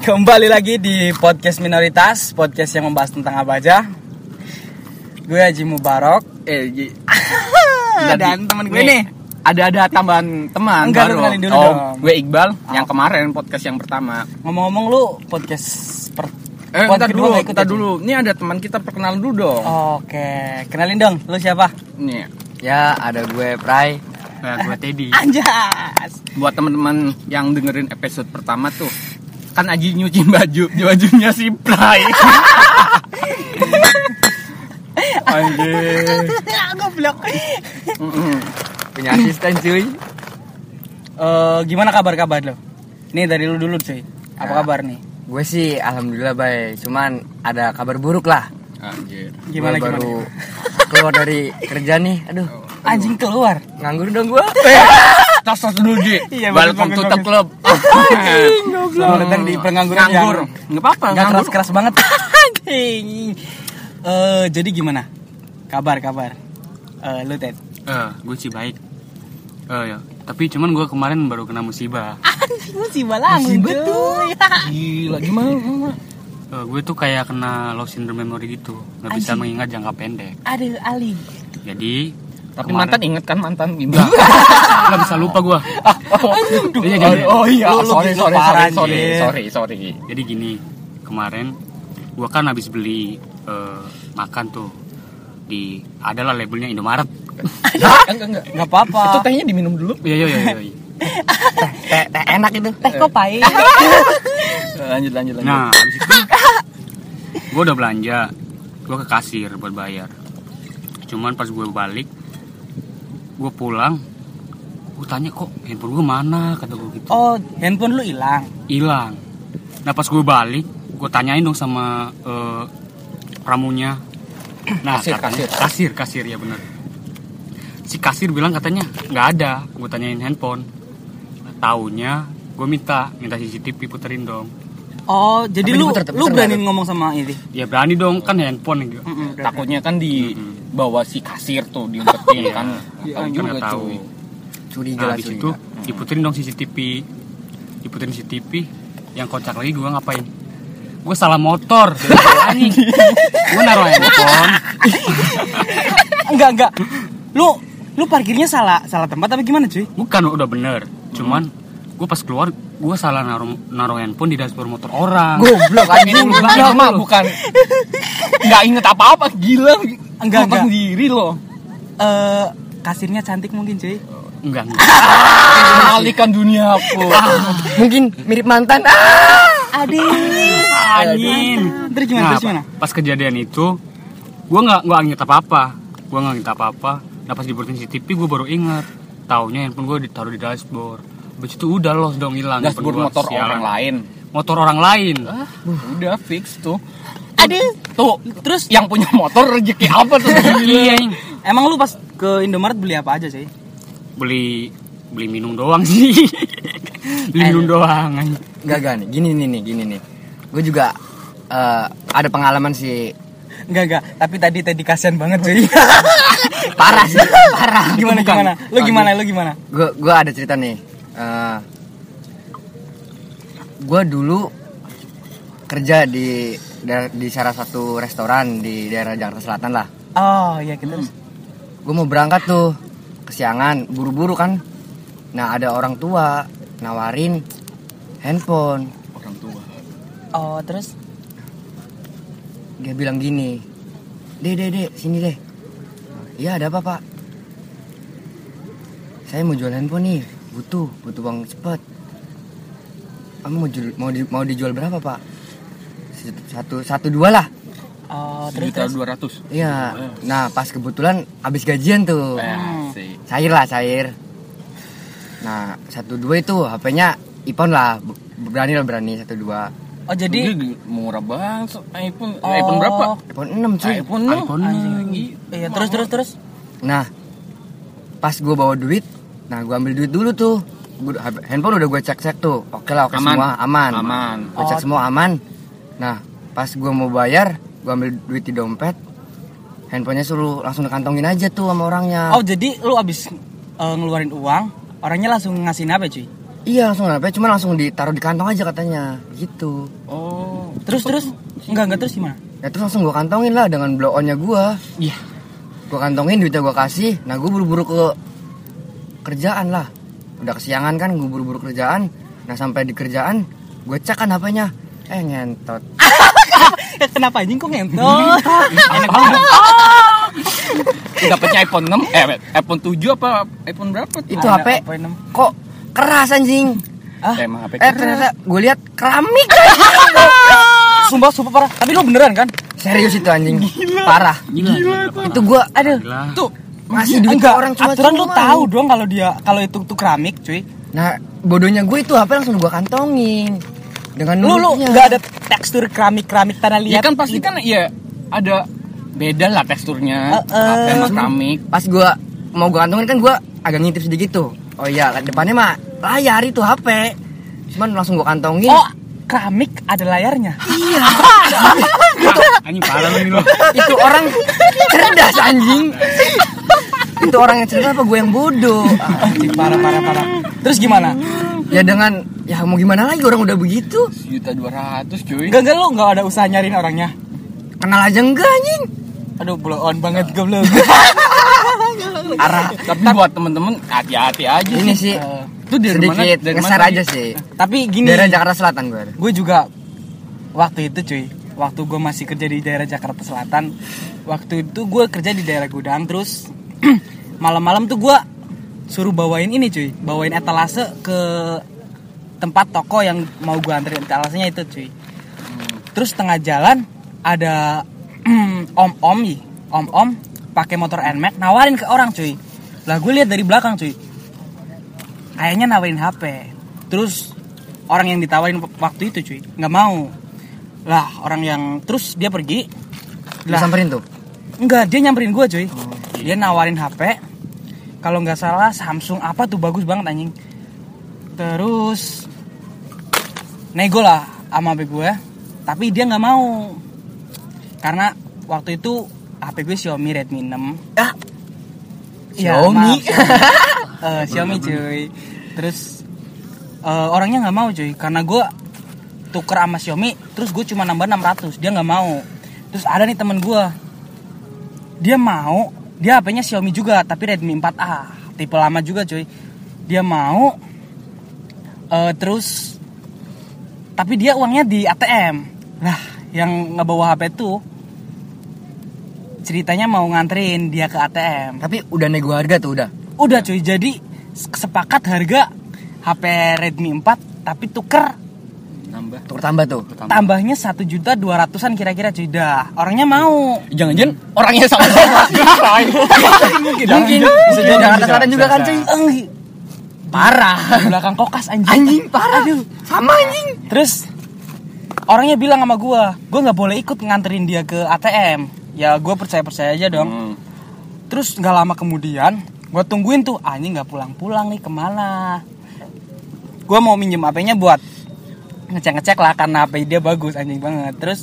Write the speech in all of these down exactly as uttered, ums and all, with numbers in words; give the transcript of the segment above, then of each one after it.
Kembali lagi di podcast minoritas, podcast yang membahas tentang apa aja. Gue Haji Mubarok, eh Ji. dan teman gue nih. Ada-ada tambahan teman Enggak, baru. lu kenalin dulu oh, dong. gue Iqbal Oh. yang kemarin podcast yang pertama. Ngomong-ngomong lu podcast per Eh, pod entar kedua dulu, nggak ikut entar aja? dulu. Ini ada teman kita perkenalan dulu dong. Oke, kenalin dong, lu siapa? Nih, Ya, ada gue Prai. nah, gue Teddy. Anjas. Buat teman-teman yang dengerin episode pertama tuh, kan Aji nyuci baju, bajunya si Prai. Anjir. Goblok. Mm-mm. Punya asisten cuy. Eh, gimana kabar-kabar lo? Nih dari lu dulu cuy. Apa Ya. kabar nih? Gue sih alhamdulillah baik. Cuman ada kabar buruk lah. Anjir. Gimana Gue gimana? baru keluar dari kerja nih. Aduh, Anjing keluar. nganggur dong gue. Tos tos dulu Ji. Iya, Welcome bagus, to bagus, the bagus. club. Selamat datang di pengangguran Nganggur. yang Enggak apa-apa, Gak nganggur. keras-keras banget. Anjing. Eh, jadi gimana? Kabar-kabar. Eh, lu Ted. Eh, gue sih baik. Eh ya, tapi cuman gue kemarin baru kena musibah. Musibah langsung tuh. Gila gimana? Eh, gue tuh kayak kena low syndrome memory gitu, nggak bisa Anjing. mengingat jangka pendek. Aduh, Ali. Jadi Tapi kemarin- mantan inget kan mantan gimana? nggak bisa lupa gue. Oh, Iya, jadi, oh iya, Lu- lu sorry gitu sorry parah, sorry sorry anjir. sorry sorry. jadi gini, kemarin gue kan habis beli eh, makan tuh di adalah labelnya Indomaret. Enggak enggak. Enggak apa-apa. Itu tehnya diminum dulu. Iya iya iya. iya. Teh, teh enak itu. teh kok pahit. Lanjut lanjut lanjut. Nah, habis itu gue udah belanja, gue ke kasir buat bayar. Cuman pas gue balik, gue pulang, gue tanya kok handphone gue mana, kata gue gitu. Oh, handphone lu hilang. Hilang. Nah pas gue balik, gue tanyain dong sama eh, pramunya. Nah Kasir, katanya, kasir, kasir ya benar. Si kasir bilang katanya nggak ada. Gue tanyain handphone. Nah, taunya gue minta, minta C C T V puterin dong. Oh, jadi Tapi lu diputer- lu puter berani nggak ngomong sama ini. Ya berani dong, kan handphone gitu. Mm-mm, Takutnya kan di Mm-mm. bawa si kasir tuh diumpetin kan. Iya, Tahu kan juga nggak tahu. cuy. Curiga Nah lah habis curiga. itu diputerin dong C C T V. Diputerin C C T V. Yang kocak lagi gue ngapain? Gue salah motor. Anjing. Gue naruh handphone. Enggak, enggak. Lu lu parkirnya salah salah tempat tapi gimana, cuy? Bukan, udah bener. Cuman gue pas keluar, gue salah naruh naruh handphone di dashboard motor orang. Goblok Ini anjing. bukan mah bukan nggak inget apa-apa gila. Enggak, Motor enggak. sendiri loh. Eh, kasirnya cantik mungkin, cuy. Enggak, enggak. Mengalihkan dunia aku. Mungkin mirip mantan. Ah. Aduh. Angin. Terus gimana? Nah, Terus gimana? pas kejadian itu, gue nggak nggak inget apa-apa. Gue nggak inget apa-apa. Nah pas diputerin C C T V, gue baru inget. Taunya handphone gue ditaruh di dashboard. Habis itu udah los dong hilang. Dashboard handphone gua. motor Sialan. orang lain. Motor orang lain. Ah, udah fix tuh. Aduh. Tuh, Terus yang punya motor rezeki apa tuh? Iya, Ing. emang lu pas ke Indomaret beli apa aja, cuy? beli beli minum doang sih. Beli minum doang. anjing. Enggak enggak nih. Gini nih nih, gini nih. Gue juga eh, ada pengalaman sih. Enggak, enggak. Tapi tadi tadi kasihan banget, cuy. Parah sih, parah. Gimana Bukan. gimana? Lu gimana? Lu gimana? Gue gue ada cerita nih. Eh, gue dulu kerja di daer- di salah satu restoran di daerah Jakarta Selatan lah. Oh, iya kita terus. Gue mau berangkat tuh kesiangan, buru-buru kan. Nah ada orang tua nawarin handphone. Orang tua. Oh, terus Dia bilang gini, deh deh deh sini deh. Iya ada apa pak? Saya mau jual handphone nih, butuh butuh uang cepet. Kamu mau jual, mau di, mau dijual berapa pak? Satu satu dua lah. oh, terus Sejuta terus. dua ratus. Iya. Nah pas kebetulan habis gajian tuh. Eh, sih. Cair lah cair. Nah satu dua itu H P-nya iPhone lah, berani lah berani satu dua. Oh, jadi Jadi murah banget iPhone. Oh. iPhone berapa? iPhone enam cuy. iPhone enam. iPhone Anjing. iya, terus terus terus. Nah pas gue bawa duit, nah gue ambil duit dulu tuh. Gua, handphone udah gue cek cek tuh, oke lah oke Aman. semua aman. Aman. Gue cek Oh. semua aman. Nah pas gue mau bayar, gue ambil duit di dompet, handphonenya suruh langsung dikantongin aja tuh sama orangnya. Oh, jadi lu abis eh, ngeluarin uang, orangnya langsung ngasihin apa, cuy? Iya langsung H P, cuma langsung ditaruh di kantong aja katanya gitu. Oh. Terus terus enggak enggak terus gimana? Ya terus langsung gue kantongin lah dengan blow on-nya gue. Iya. Gue kantongin, duitnya gue kasih. Nah gue buru-buru ke kerjaan lah. Udah kesiangan kan, gue buru-buru kerjaan. Nah sampai di kerjaan gue cek kan H P-nya, eh ngentot. Kenapa anjing kok ngentot? Enak banget. Dapatnya iPhone enam, eh iPhone tujuh apa iPhone berapa tuh? Itu H P kok keras anjing. Ah, Emang H P Eh ternyata gue lihat keramik. sumpah sumpah parah. Tapi lu beneran kan? Serius itu anjing. Parah. Gila. Itu gue aduh Gila. Tuh, masih duit enggak, orang cuma aturan lu tahu dong kalau dia kalau itu tuh keramik, cuy. Nah bodohnya gue itu H P langsung gue kantongin dengan Lu lu nurutnya. enggak ada tekstur keramik-keramik tanah Ya liat. kan pasti kan ya ada beda lah teksturnya. Uh, uh. H P sama keramik. Pas gue mau gue kantongin kan gue agak ngintip sedikit tuh. Oh iya depannya mah layar itu H P. Cuman langsung gue kantongin. Oh, keramik ada layarnya. Anjing parah lu nih lo. Itu orang cerdas anjing. Itu orang yang cerdas apa gue yang bodoh? Anjing parah parah parah. Terus gimana? Ya dengan ya mau gimana lagi orang udah begitu. Sejuta dua ratus cuy. Enggak enggak lu enggak ada usaha nyariin orangnya. Kenal aja enggak anjing. Aduh, blow on banget goblok. Arah Tapi buat temen-temen hati-hati aja. ini sih Itu dari mana? sedikit Dari ngeser mana? aja sih. Tapi gini, Daerah Jakarta Selatan gue. gue juga waktu itu cuy, waktu gue masih kerja di daerah Jakarta Selatan, waktu itu gue kerja di daerah Gudang, terus malam-malam tuh gue suruh bawain ini cuy, bawain etalase ke tempat toko yang mau gue anterin etalasenya itu cuy. Terus tengah jalan ada om-om nih, om-om pakai motor N-Max nawarin ke orang cuy. Lah gue lihat dari belakang cuy, kayaknya nawarin H P. Terus orang yang ditawarin waktu itu cuy nggak mau. Lah orang yang terus dia pergi. Lah Disamperin tuh. enggak, dia nyamperin gue cuy. Dia nawarin H P. Kalau nggak salah Samsung apa tuh, bagus banget anjing. Terus nego lah sama H P gue, tapi dia nggak mau. Karena waktu itu H P gue Xiaomi Redmi enam. Ah. Ya, Xiaomi. maaf, Xiaomi. Eh, Xiaomi cuy. Terus eh, orangnya nggak mau cuy, karena gue tuker sama Xiaomi, terus gue cuma nambah enam ratus, dia nggak mau. Terus ada nih temen gue, dia mau, dia H P-nya Xiaomi juga, tapi Redmi empat A, tipe lama juga cuy. Dia mau, eh, terus, tapi dia uangnya di A T M. Lah, yang ngebawa H P tuh ceritanya mau nganterin dia ke A T M. Tapi udah nego harga tuh udah. Udah cuy, jadi sepakat harga H P Redmi empat, tapi tuker Nambah. Tuker tambah tuh. tambahnya satu juta dua ratusan kira-kira cuy. Dah, orangnya mau. Jangan-jangan orangnya sama-sama. Mungkin. Mungkin. Bisa jadi Jakarta Selatan juga kan cuy. Eng, parah. Di belakang kokas anjing. Anjing parah. Aduh. Sama anjing. Terus orangnya bilang sama gua, gua nggak boleh ikut nganterin dia ke A T M. Ya gua percaya-percaya aja dong. Hmm. Terus nggak lama kemudian, gua tungguin tuh, anjing nggak pulang-pulang nih, kemana? Gua mau minjem H P-nya buat ngecek-ngecek lah, karena H P dia bagus anjing banget. Terus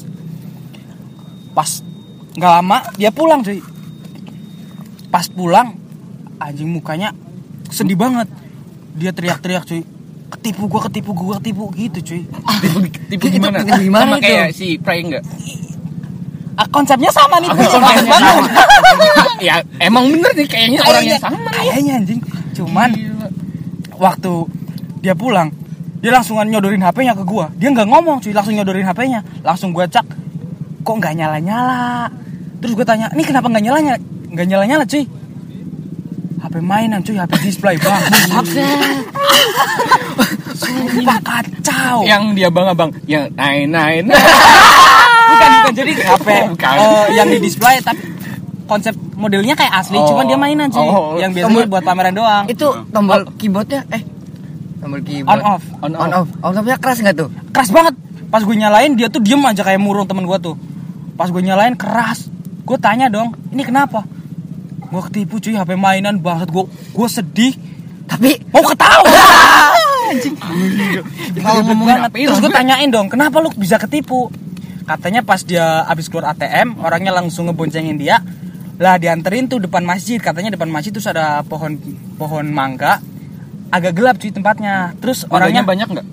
pas nggak lama dia pulang cuy. Pas pulang anjing mukanya sedih banget. Dia teriak-teriak cuy, ketipu gua, ketipu gua, ketipu gitu cuy. Tipu, tipu Itu gimana? tipu gimana Sama itu? kayak si Pray enggak? Ah, konsepnya sama nih. Apa Cuy. konsepnya Banget. sama? Ya emang bener nih kayaknya orangnya Kayaknya- sama. Kayaknya anjing. Cuman Gila. waktu dia pulang, dia langsung nyodorin H P-nya ke gua. Dia nggak ngomong cuy, langsung nyodorin H P-nya. Langsung gua cek, kok nggak nyala-nyala. Terus gua tanya, ini kenapa nggak nyala-nyala? Nggak nyala-nyala cuy. H P mainan cuy, H P display bagus. Sumpah kacau. Yang dia bang-abang, yang naik-naik. Bukan, bukan jadi H P Bukan. eh, yang di display, tapi konsep modelnya kayak asli, Oh. cuman dia mainan cuy. Oh. Yang biasanya buat pameran doang. Itu tombol keyboardnya eh tombol keyboard On off. On on off. On off-nya keras enggak tuh? Keras banget. Pas gue nyalain dia tuh diem aja kayak murung temen gue tuh. Pas gue nyalain keras. Gue tanya dong, ini kenapa? Gue ketipu cuy, H P mainan banget. Gue gue sedih, Tapi mau ketawa. Anjing. Kalau ngomongin banget. H P, Terus gue gue- tanyain dong, kenapa lu bisa ketipu? Katanya pas dia abis keluar A T M, orangnya langsung ngeboncengin dia. Lah dianterin tuh depan masjid. Katanya depan masjid terus ada pohon pohon mangga. agak gelap cuy tempatnya. Terus Orangnya orangnya banyak nggak?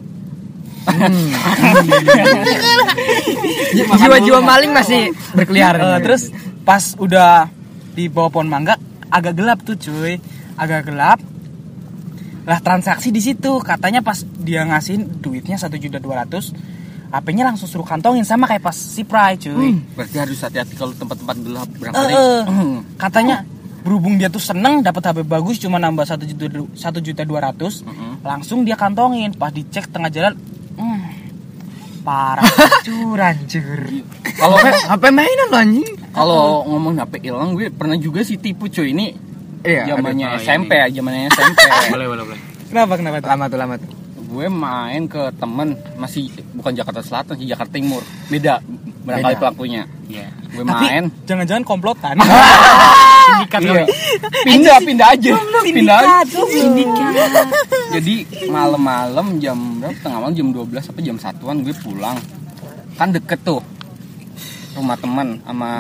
Jiwa-jiwa maling masih berkeliaran. Eh, terus pas udah di bawah pohon mangga agak gelap tuh cuy, agak gelap. Lah transaksi di situ katanya pas dia ngasihin duitnya satu juta dua ratus, H P-nya langsung suruh kantongin sama kayak pas si Prai cuy. Berarti harus hati-hati kalau tempat-tempat gelap Eh, barangkali. eh, Hmm. katanya berhubung dia tuh seneng dapat H P bagus cuma nambah satu juta satu juta dua ratus, langsung dia kantongin. Pas dicek tengah jalan, hmm, parah hancur hancur. Kalau H P mainan lo anjing. kalau ngomong H P hilang, gue pernah juga sih tipu cuy. Ini Iya, zamannya aduh, S M P ya, zamannya S M P. Boleh, boleh, boleh. Kenapa kenapa tuh? Lama tuh lama tuh. Gue main ke temen, masih bukan Jakarta Selatan sih, Jakarta Timur. Beda barangkali Beda. pelakunya. Iya. Gue Tapi main. jangan-jangan komplotan. Sindikat Iya. kali. Pindah, pindah aja. Pindah aja. Sindikat. Jadi malam-malam jam berapa? Tengah malam jam dua belas apa jam satuan gue pulang. Kan deket tuh rumah teman sama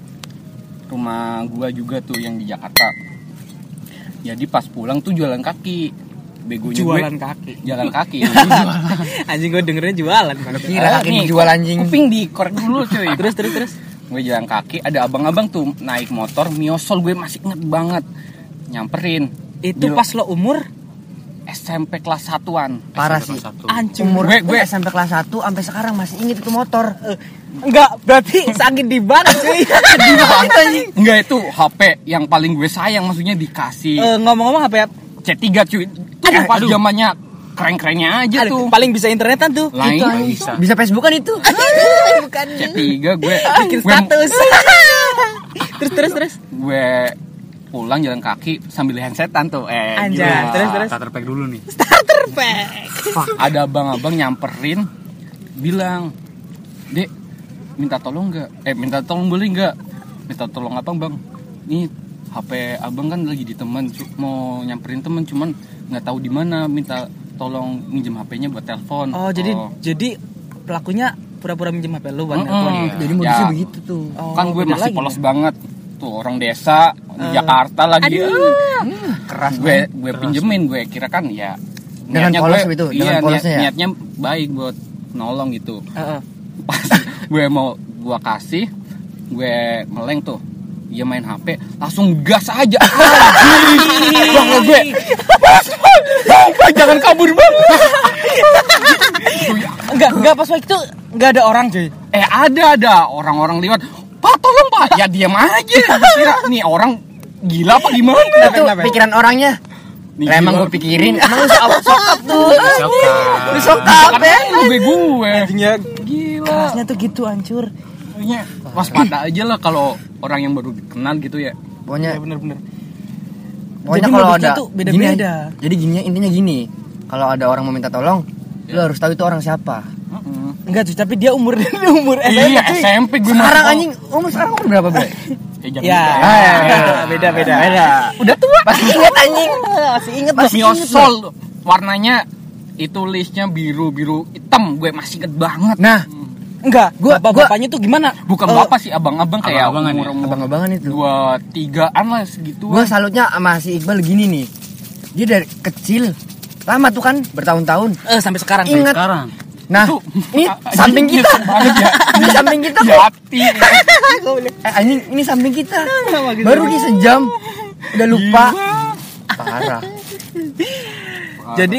rumah gua juga tuh yang di Jakarta. Jadi pas pulang tuh jualan kaki. Begonya Jualan gue kaki. jalan kaki. Anjing gue dengernya jualan. Mana kira kaki nih, dijual anjing. Kuping dikorek dulu cuy. Terus terus terus. Gue jalan kaki, ada abang-abang tuh naik motor miosol, gue masih inget banget. Nyamperin. Itu Gila. pas lo umur S M P kelas satuan. Parah S M P sih. kelas satu. hancur. Umur Gue- gue, gue- S M P kelas satu sampai sekarang masih inget itu motor. Enggak, berarti sakit di ban cuy. Sedih banget anjing. Enggak, itu H P yang paling gue sayang, maksudnya dikasih Eh, ngomong-ngomong apa ya? C tiga cuy. Itu Aduh, pas aduh. zamannya keren-kerennya aja Aduh, tuh. paling bisa internetan tuh. Lain Itu anjing. bisa. Bisa Facebookan itu. Bukan. C tiga gue Bikin gue, status. terus terus terus. gue pulang jalan kaki sambil handsetan tuh. Eh, Anjay, gila. terus, terus. Starter pack dulu nih. Starter pack. Ada abang-abang nyamperin bilang, "Dek, minta tolong nggak? Eh, minta tolong boleh nggak? Minta tolong apa, Bang? Nih H P abang kan lagi di teman, cu- mau nyamperin temen, cuman nggak tahu di mana. Minta tolong minjem H P-nya buat telepon." Oh, jadi jadi pelakunya pura-pura minjem H P lu buat Mm-mm. telepon. Iya. Jadi modusnya Ya. begitu tuh. Oh, Kan gue beda masih lagi polos ya? banget. Tuh orang desa di Eh. Jakarta lagi. Ah. Keras gue gue pinjemin, gue kira kan ya Dengan niatnya polos gue- itu, iya, dengan niat- polosnya ya? niatnya baik buat nolong gitu. Heeh. Pas gue mau gue kasih, gue meleng tuh, dia main H P, langsung gas aja. Bang gue, Bang, jangan kabur bang. Enggak, enggak pas waktu itu enggak ada orang, cuy. Eh ada ada orang-orang lewat, Pak tolong Pak. Ya diam aja. Kira nih orang gila apa gimana? Itu pikiran orangnya. Nih, Lah, emang gila. gue pikirin, emang lu sokap sokap tuh. Sokat. Lu sokap ya. Gue gue. Anjingnya Gila. kerasnya tuh gitu hancur. Pokoknya waspada aja lah kalau orang yang baru kenal gitu ya. Pokoknya Ya bener-bener. Pokoknya Jadi kalau modusnya ada tuh beda-beda. gini, jadi gini intinya gini. Kalau ada orang mau minta tolong, lu harus tahu itu orang siapa. Enggak, cuy, tapi dia umur dia umur S M P. Iya cuy. S M P gue Sekarang anjing umur sekarang umur berapa, Bre? Eh, jangan Ya, gitu. Ah, ya, beda, beda, beda, beda. Udah tua. Masih inget anjing. Masih inget Masih Miosol warnanya itu listnya biru biru hitam, gue masih inget banget. Nah, Enggak, Gua- bapak gua- bapaknya tuh gimana? Bukan Eh, bapak sih, abang-abang kayak Abang-abangan ya? umur umur abang-abangan itu. dua tigaan lah segitu. Gue salutnya sama si Iqbal gini nih. Dia dari kecil lama tuh kan bertahun-tahun. eh sampai sekarang. Ingat. Sekarang. Nah, Itu- ini Ah, samping anjing, kita. nyesek banget ya. Ini samping kita kok. Jati. Eh, anjing, ini samping kita. Baru di sejam udah lupa. Parah. Jadi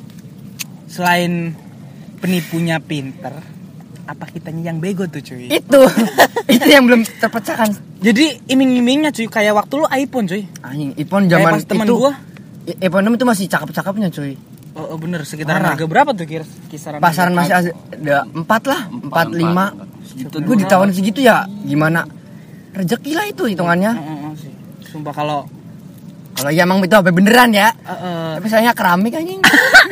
selain penipunya pinter, apa kitanya yang bego tuh, cuy? Itu. Itu yang belum terpecahkan. Jadi iming-imingnya, cuy, kayak waktu lu iPhone, cuy. Anjing, iPhone Kayak zaman pas teman itu. gua. i- iPhone enam itu masih cakep-cakepnya, cuy. Oh, oh, bener, sekitaran Parah. harga berapa tuh kira kisaran? Pasaran harga? masih ada empat lah, empat empat. lima. Segitu Gue di tahun segitu ya gimana? Rezeki lah itu hitungannya. Heeh, heeh, sih. Sumpah kalau Kalau ya emang itu H P beneran ya. eh, eh, Tapi sayangnya keramik anjing.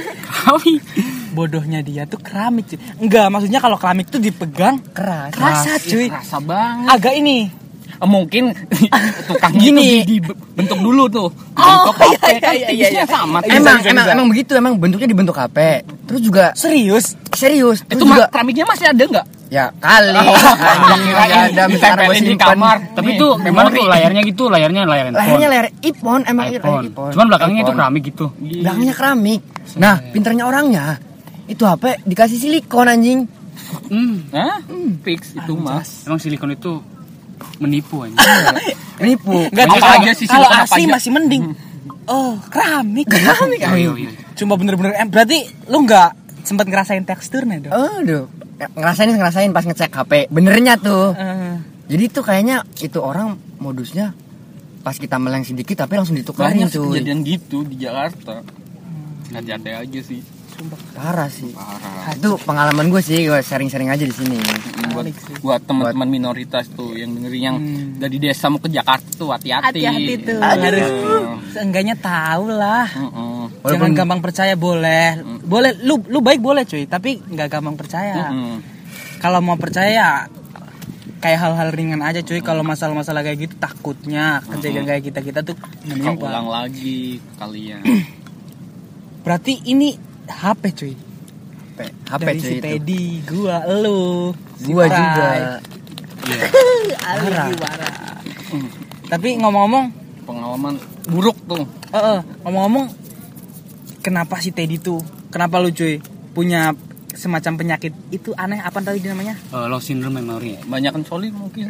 bodohnya dia tuh keramik, cuy. Enggak, maksudnya kalau keramik tuh dipegang Keras. kerasa, cuy. Rasa banget. Agak ini. Eh, Mungkin tukang Gini. itu dibentuk dulu tuh. Oh, Bentuk H P iya, kan iya, iya, tipsnya iya. sama. Bisa, emang bisa, emang bisa. emang begitu emang bentuknya dibentuk H P. Terus juga Serius? serius. Terus Itu juga mah keramiknya masih ada nggak? Ya kali. Anjing nggak ada besar gue ditempelin di simpen. kamar. Tapi itu memang tuh layarnya gitu, layarnya layar handphone. Layarnya layar iPhone, emang layar iPhone. iPhone. Cuman belakangnya itu iPhone. keramik gitu. Belakangnya keramik. Nah, pinternya orangnya itu H P dikasih silikon anjing. Hmm, Hah? Fix itu mah. Emang silikon itu menipu aja. Nipu. Enggak Apa kalau aja sih, kalau silikon apa asli aja? masih mending. Oh, keramik. Keramik. Oh, iya, iya. Cuma bener-bener em berarti lu nggak sempat ngerasain teksturnya dong. Aduh, ngerasain ngerasain pas ngecek H P. Benernya tuh. Eh, Jadi tuh kayaknya itu orang modusnya pas kita meleng sedikit tapi langsung ditukarin Banyak sih cuy. kejadian gitu di Jakarta. Hati-hati aja sih. Parah sih. Parah. Itu pengalaman gue sih, gue sharing-sharing aja di sini. Buat, Balik sih. buat teman-teman minoritas tuh yang dengerin yang Hmm. dari desa mau ke Jakarta tuh hati-hati. hati-hati tuh. Aduh. Harus seenggaknya tahu lah. Heeh. Walaupun- Jangan gampang percaya boleh. Boleh lu lu baik boleh cuy, tapi nggak gampang percaya. Heeh. Kalau mau percaya ya kayak hal-hal ringan aja cuy. Kalau masalah-masalah kayak gitu takutnya kejadian kayak kita-kita tuh Kau ulang menimpa. lagi ke kalian. Berarti ini H P cuy. H P Dari cuy si itu. Teddy, gua, lu, si Gua Prai. juga. Iya. Ali Parah. parah. Tapi ngomong-ngomong, Pengalaman buruk tuh. eh, eh, ngomong-ngomong, kenapa si Teddy tuh? Kenapa lu cuy punya semacam penyakit itu aneh apa tadi namanya? Eh, low syndrome memory ya. Banyakan solid mungkin.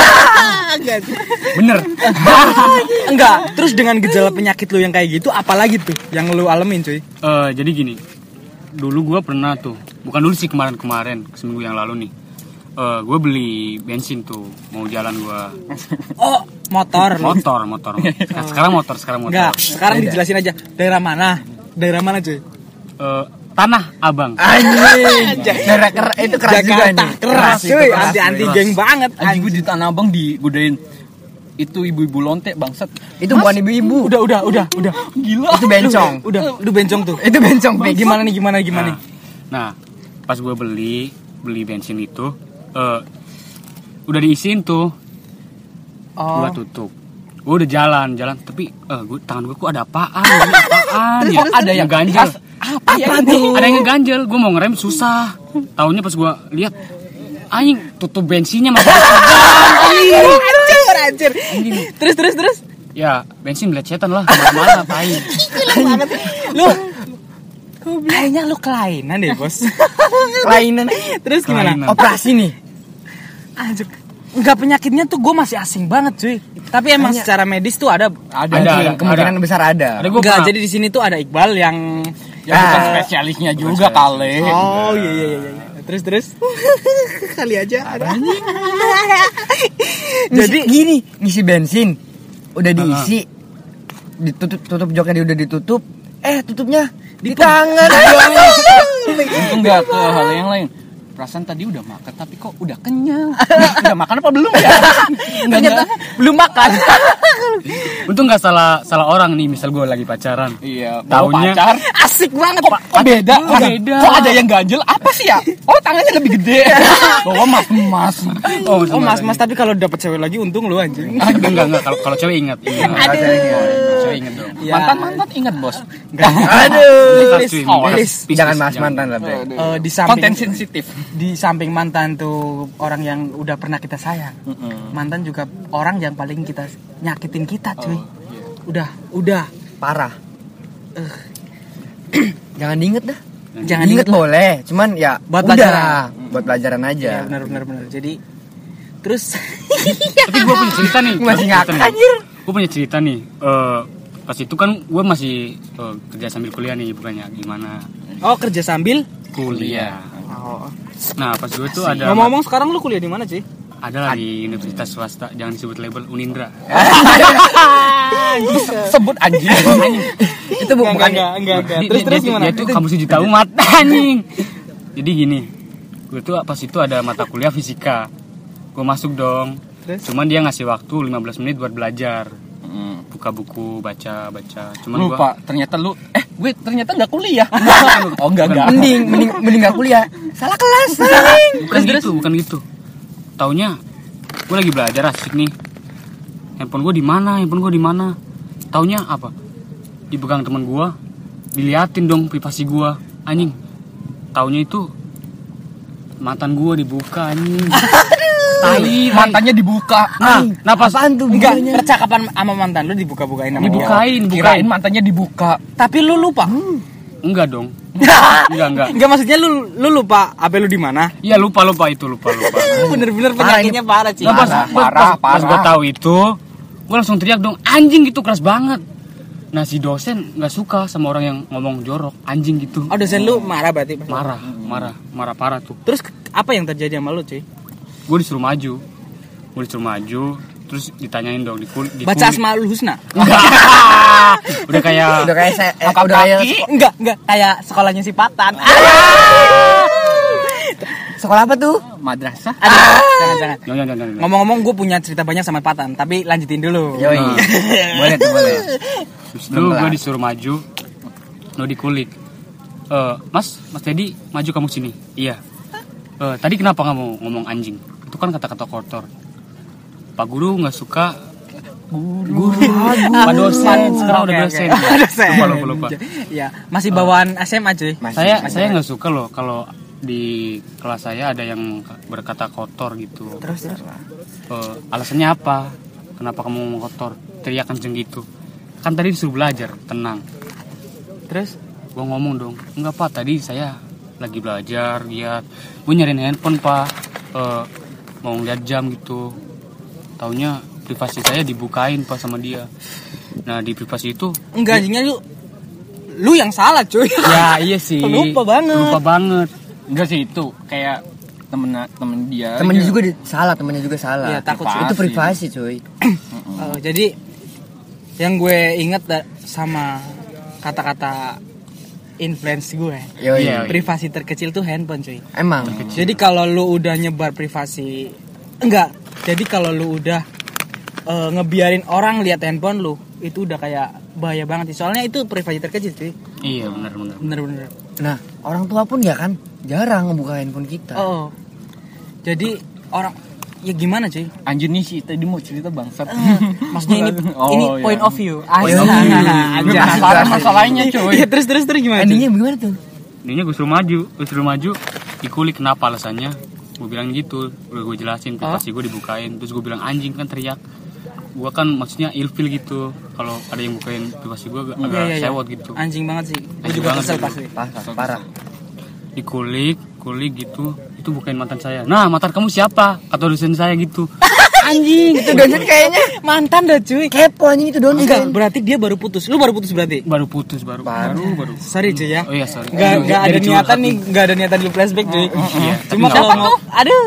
Bener. Enggak. Terus dengan gejala penyakit lu yang kayak gitu, apalagi tuh yang lu alamin cuy? Eh, jadi gini. Dulu gue pernah tuh, bukan dulu sih kemarin-kemarin, seminggu yang lalu nih. Eh, gue beli bensin tuh, mau jalan gue. Oh, motor lu. Motor, motor. Nah, sekarang motor, sekarang motor. Enggak, sekarang dijelasin aja. Daerah mana? Daerah mana cuy? Eh, Tanah Abang. Anjing. Daerah ker- itu keras juga Jakarta nih. keras itu cuy, keras, anti-anti keras. geng banget. Anjing gue di Tanah Abang digodain itu ibu-ibu lonte bangsat. Itu bukan ibu-ibu. Udah, udah, udah, udah. Gila. Itu bencong. Udah, udah bencong tuh. Itu bencong Pek. Gimana nih, gimana gimana? Nah, nah, pas gue beli beli bensin itu, eh, udah diisiin tuh, Oh. gue tutup. Gue udah jalan, jalan, tapi eh, gue tangan gue kok ada apaan? Ini apaan ya? Ada yang ganjel. Apa ya Apa ini? tuh? Ada yang ngeganjel. Gue mau ngerem susah. Taunya pas gue lihat, anjing tutup bensinnya masih. Anjir, anjir. Terus, terus, terus. Ya bensin belecetan lah, kemana-mana, tai. Lu kayaknya lu kelainan deh, Bos. Kelainan. Terus gimana? Kelainan. Operasi nih. Anjir. Enggak, penyakitnya tuh gue masih asing banget, cuy. Tapi emang Kayaknya- secara medis tuh ada Ada, Ada, ada. ada. Kemungkinan besar ada. Ada gue Enggak, pernah. jadi di sini tuh ada Iqbal yang Ya bukan Ah. spesialisnya juga kali. Oh, iya iya iya. iya. Terus terus. Kali aja ada. Jadi gini, ngisi bensin udah diisi, ditutup tutup joknya dia udah ditutup, eh tutupnya di, tangan. Untung nggak ke hal yang lain. Perasaan tadi udah makan tapi kok udah kenyang. Udah makan apa belum ya? Ternyata belum makan. Untung nggak salah salah orang nih, misal gue lagi pacaran. Iya, bawa Taunya- pacar. Asik banget, Kok, kok beda? Kok beda? Kok ada yang ganjel? Apa sih ya? Oh, tangannya lebih gede. Bawa mas-mas. Oh, Oh, Mas-mas, tapi kalau dapet cewek lagi untung lu anjing. enggak enggak enggak. Kalau kalau cewek ingat. Ingat. Aduh. Cewek ingat dong. Ya. Mantan-mantan ingat, Bos. Aduh. Please, Oh, please, please, Jangan please, bahas mantan lah, Bre. Eh, di samping Konten sensitif. di samping mantan tuh orang yang udah pernah kita sayang. Mantan juga orang yang paling kita nyakitin kita, cuy. Udah, udah. Parah. Jangan diinget dah. Jangan Diinget boleh, cuman ya Buat udah, pelajaran. buat pelajaran Ya, aja. benar benar benar. Jadi terus Tapi gue punya cerita nih. Masih Cerita ngakak, nih. Gue punya cerita nih. Eh, pas itu kan gue masih eh, kerja sambil kuliah nih, bukannya gimana? oh, kerja sambil. Kuliah. Oh. Nah pas gue tuh ada Ngomong-ngomong sekarang lu kuliah di mana, cuy? ada lah di universitas swasta, jangan disebut label Unindra. Sebut anjing. Itu bu- bukan enggak, enggak, enggak. Dia- Terus dia- terus dia- gimana? Dia tuh kampus juta umat anjing. Jadi gini, gue tuh pas itu ada mata kuliah fisika. Gue masuk dong. Terus? Cuman dia ngasih waktu lima belas menit buat belajar. Buka buku, baca, baca. Cuman gua Lupa, ternyata lu eh gue ternyata nggak kuliah. Oh, enggak enggak. mending mending mending gak kuliah. Salah kelas. bukan gitu, bukan gitu. Taunya gue lagi belajar asik nih. Handphone gue di mana? Handphone gue di mana? Taunya apa? Dipegang teman gue, diliatin dong privasi gue. Anjing. Taunya itu mantan gue dibuka anjing. Tai, mantannya dibuka. Nah, Nah pas Apaan tuh enggak videonya? percakapan sama mantan lu dibuka-bukain sama dia. dibukain, bukain. Kirain mantannya dibuka. Tapi lu lupa. Enggak dong. Enggak, enggak. Enggak maksudnya lu lu lupa H P lu di mana? Iya lupa lupa itu lupa lupa. Bener-bener Parah penyakitnya parah, Ci. Nah, pas, Parah, pas, parah, pas, pas gue parah. tahu itu, gue langsung teriak dong, anjing gitu keras banget. Nah si dosen nggak suka sama orang yang ngomong jorok, anjing gitu. Oh, dosen lu marah berarti. pas- Marah, marah, marah parah tuh. Terus ke- apa yang terjadi sama lu, cuy? Gue disuruh maju, gue disuruh maju, terus ditanyain dong di kul, di Baca kulit. Asmaul Husna. Udah kayak Udah kayak saya eh, Angkat udah kayak kaki. seko- Enggak, enggak kayak sekolahnya si Patan. sekolah apa tuh? Madrasah. Aduh, jangan jangan. Jangan, jangan, jangan. Ngomong-ngomong gue punya cerita banyak sama Patan, tapi lanjutin dulu. Yoi. Boleh tuh, boleh. Terus Belum itu gue kelar. disuruh maju, lo dikulik. Eh, mas, Mas Teddy, maju kamu sini. Iya. Eh, tadi kenapa kamu ngomong anjing? Itu kan kata-kata kotor. Pak guru nggak suka. Guru, Pak dosen, sekarang udah Oke, oke. dosen. Dosen. Lupa, lupa, lupa. Iya, masih bawaan S M A, cuy. Masih, Saya, masih. saya nggak suka loh kalau di kelas saya ada yang berkata kotor gitu. Terus terus. Eh, alasannya apa? Kenapa kamu ngomong kotor? Teriak kenceng gitu. Kan tadi disuruh belajar, tenang. Terus Gue ngomong dong, enggak pak, tadi saya lagi belajar, lihat gue nyariin handphone pak, Eh, mau ngeliat jam gitu. Taunya privasi saya dibukain pak sama dia. Nah di privasi itu, enggak anjingnya lu lu yang salah, cuy. Ya iya sih. Lupa banget. lupa banget. Enggak sih itu kayak temen temen dia. Temennya aja. juga di- salah, temennya juga salah. Iya, takut sih. Itu privasi, cuy. Oh, jadi yang gue inget da- sama kata-kata influence gue, Yoi. Iya. privasi terkecil tuh handphone, cuy. Emang. Jadi kalau lu udah nyebar privasi, enggak. Jadi kalau lu udah eh, ngebiarin orang lihat handphone lu, itu udah kayak bahaya banget sih. Soalnya itu privasi terkecil, cuy. Iya benar-benar. Bener-bener. Nah, orang tua pun ya kan jarang ngebuka handphone kita. Oh. Jadi orang ya gimana, cuy? Anjir nih sih tadi mau cerita bangsat. Maksudnya ini Oh, ini iya. point of view. Point of view. Aja. Penasaran masalahnya cuy. Iya, terus terus terus gimana? cuy? Endingnya gimana tuh? Ininya gue suruh maju, gue suruh maju, dikulik kenapa alasannya? Gue bilang gitu, udah gue jelasin privasi gue dibukain, terus gue bilang anjing kan teriak. Gue kan maksudnya ilfil gitu, kalau ada yang bukain privasi gue agak, Iya, agak iya, iya. sewot gitu. Anjing banget sih. Gue Anjing juga banget kesel sih. pasti. Parah, parah. Dikulik, kulik gitu, itu bukain mantan saya. Nah mantan kamu siapa? Kata dosen saya gitu. Anjing, Itu dosen kayaknya mantan dah, cuy. kepo anjing itu dosen. Enggak, berarti dia baru putus. Lu baru putus berarti? Baru putus baru, baru, baru. Sorry, cuy ya. Oh iya sorry. Enggak Aduh, enggak ada jadi curhat niatan nih, nih. enggak ada niatan di flashback, cuy. Iya. Cuma Tapi kalau nggak mau aduh.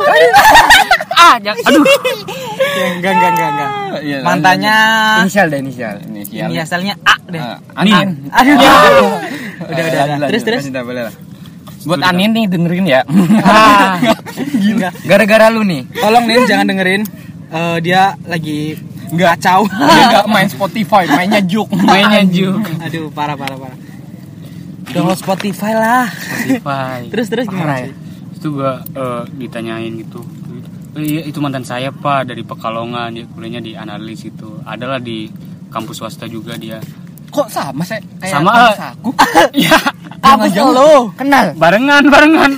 Ah, jangan, aduh. Ya, enggak enggak enggak enggak. Iya, Mantannya Inisial deh, inisial. Inisial. ini asalnya A deh. Ah, Anin. Aduh. Ya. Udah udah udah. Terus terus. Tidak boleh lah. Buat Anin nih dengerin ya. Ah, Enggak. Gara-gara lu nih. Tolong nih jangan dengerin. Eh, dia lagi Enggak. kacau. Dia enggak main Spotify, mainnya Juk. Mainnya Juk. Aduh, parah parah parah. Download Spotify lah. Spotify. Terus terus gimana? Parah ya? cuy? Itu gua eh, ditanyain gitu. Oh, iya itu mantan saya pak dari Pekalongan, dia kuliahnya di analis itu. Adalah di kampus swasta juga dia. Kok sama sih? Kayak Sama, kampus eh. aku. Iya. Kampus lo. Kenal. Barengan barengan.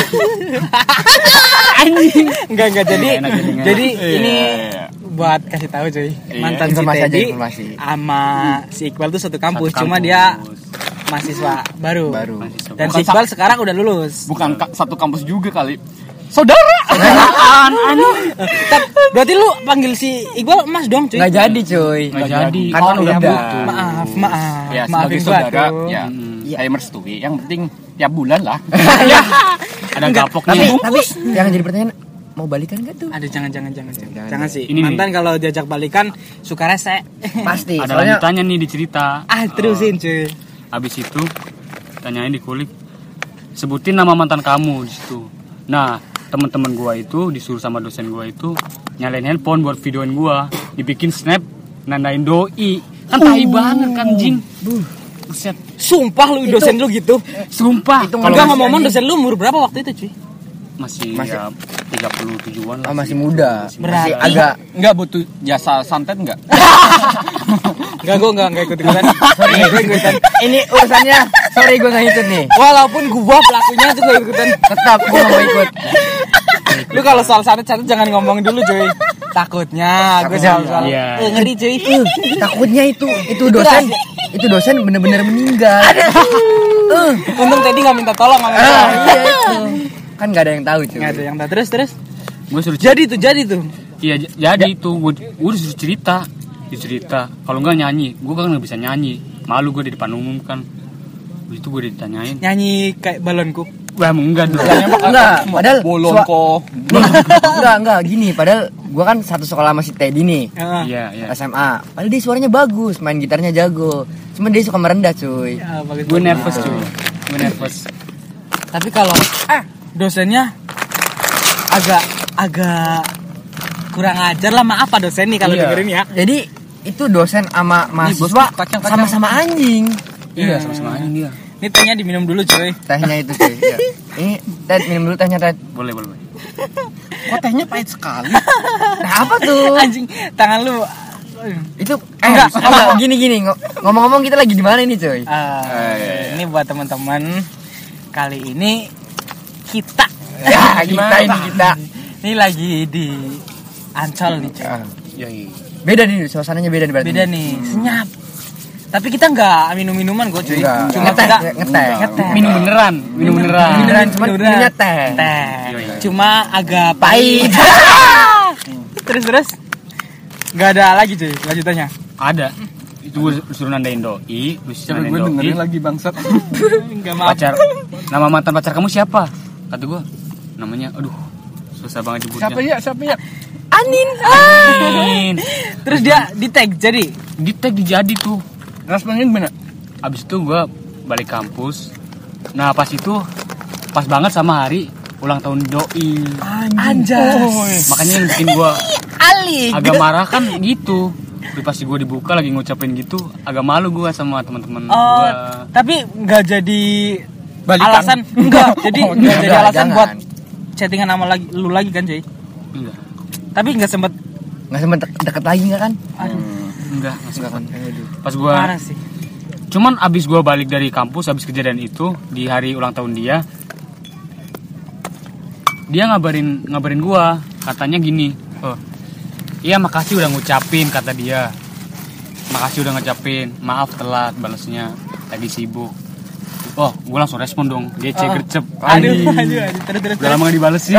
Anjing. Enggak enggak jadi Enak jadinya. jadi Iya, ini iya. buat kasih tahu cuy. Mantan si informasi aja, Teddy informasi. sama si Iqbal tuh satu kampus, Satu cuma kampus. dia mahasiswa baru. Baru. Mahasiswa. Dan Bukan si Iqbal sekarang udah lulus. Bukan ka- satu kampus juga kali. Saudara. Apaan anjing? Tat, berarti lu panggil si Iqbal Mas dong cuy. Nggak jadi, cuy. Nggak jadi. Kan Oh, udah. iya, Maaf, maaf. Ya Maafin sebagai gua saudara tuh. ya. Hmm. Saya merestui. Yang penting tiap bulan lah. Ada Enggak, gapoknya. Tapi tapi yang jadi pertanyaan mau balikan gak tuh? Aduh jangan jangan jangan jangan, Jangan, jangan sih. Ini nih. Mantan kalau diajak balikan suka rese. Pasti. Ada Soalnya lanjutannya nih di cerita. Ah terusin cuy. Habis itu tanyain dikulik, sebutin nama mantan kamu di situ. Nah teman-teman gua itu disuruh sama dosen gua itu nyalain handphone buat videoin gua, dibikin snap nandain doi. Kan tai banget kan jing. Buset. Sumpah lu Itu- dosen lu gitu. Sumpah. Itu Kalau Kalau enggak masih ngomong anjing. dosen lu umur berapa waktu itu cuy? masih, Masih- ya tiga puluh tujuan lah. oh, masih sih. muda. Masih Berarti- Masih agak Enggak butuh jasa santet enggak? Enggak, gue enggak enggak ikut ikutan. Sorry, gue ikutan. Ini urusannya, sorry gue nggak ikut nih. Walaupun gua pelakunya tuh gue ikutan. Tetap gue nggak mau ikut. Lu kalau soal santet-santet jangan ngomong dulu, cuy. Takutnya gue soal-soal. Iya. Eh, ngeri, cuy. Uh, takutnya itu itu dosen itu dosen bener-bener meninggal. Uh, untung tadi nggak minta tolong sama Ah, gua. iya itu. Kan nggak ada yang tahu cuy. Nggak ada yang tahu. Terus terus. Gue suruh Jadi tuh, jadi tuh. Iya j- jadi itu gue gue disuruh cerita, dicerita. Kalau enggak nyanyi, gue kan nggak bisa nyanyi. Malu gue di depan umum kan. Habis itu gue ditanyain. Nyanyi kayak balonku. Wah enggak dong. Enggak, padahal Bolon sua- kok. enggak enggak gini, padahal gua kan satu sekolah sama si Teddy nih. Heeh. Iya iya. S M A. Padahal dia suaranya bagus, main gitarnya jago. Cuma dia suka merendah, cuy. Ya, bagus. Gue nervous cuy. Gue nervous. Tapi kalau ah dosennya agak agak kurang ajar lah, maaf Pak dosen nih kalau Iya. dengerin ya. Jadi itu dosen sama mahasiswa bos, kacang-kacang. sama-sama anjing. Iya sama-sama aja dia. Ini tehnya diminum dulu, cuy. Tehnya itu, cuy. Ya. Ini Ted minum dulu tehnya, Ted. Boleh boleh. boleh. Kok tehnya pahit sekali? Nah, apa tuh? Anjing, tangan lu. Itu eh Enggak. enggak, gini gini. Ngo- Ngomong-ngomong kita lagi di mana ini, cuy? Ah, iya. ini buat teman-teman. Kali ini kita Ya, kita ini kita. ini lagi di Ancol nih, cuy. Ah, Iya iya. Beda nih, suasananya beda nih berarti. Beda nih, senyap. Tapi kita nggak minum-minuman gue, cuy. Enggak. Cuma Ngeteh, kita ngeteh. ngeteh. Minum beneran, minum beneran. Beneran, cuma Beneran. minumnya teh. Teh. Iya, iya. Cuma agak Pahit. terus terus. Gak ada lagi, cuy, lanjutannya. Ada. Itu gue disuruh nandain doi, terus Coba nandain gue doi. dengerin lagi bangsat. Enggak maaf. Pacar. Nama mantan pacar kamu siapa? Kata gue. Namanya aduh susah banget disebutnya. Siapa ya? Siapa ya? Anin. Anin. Terus dia di tag jadi. Di tag dijadi tuh. Responnya gimana? Abis itu gue balik kampus. Nah pas itu pas banget sama hari ulang tahun doi. Anjas. Makanya yang bikin gue Ali. agak marah kan gitu. Tapi pas gue dibuka lagi ngucapin gitu, agak malu gue sama teman-teman Oh, gue. tapi nggak jadi Balikan. alasan enggak. Jadi Oh, nggak jadi enggak, alasan jangan. buat chattingan sama lagi lu lagi kan, cuy. Enggak, Tapi nggak sempet. Nggak sempet dek- deket lagi nggak kan? Aduh, enggak, nggak Nggak kan? sempet. Aduh. Pas gue, parah sih. cuman abis gue balik dari kampus, abis kejadian itu di hari ulang tahun dia, dia ngabarin ngabarin gue, katanya gini, oh, iya makasih udah ngucapin, kata dia, makasih udah ngucapin, maaf telat balesnya, lagi sibuk. Oh, gue langsung respon dong, dia cek Oh. gercep, Aduh, anjing. aduh, aduh, terus terus. Udah lama gak dibalesin.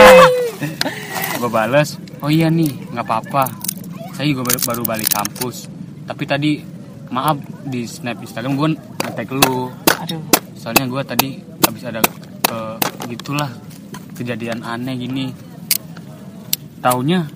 Gue bales, oh iya nih, nggak apa-apa. Saya juga baru, baru balik kampus. Tapi tadi maaf di snap Instagram gue nge-tag lu. Aduh. Soalnya gue tadi habis ada eh, gitulah kejadian aneh gini. Taunya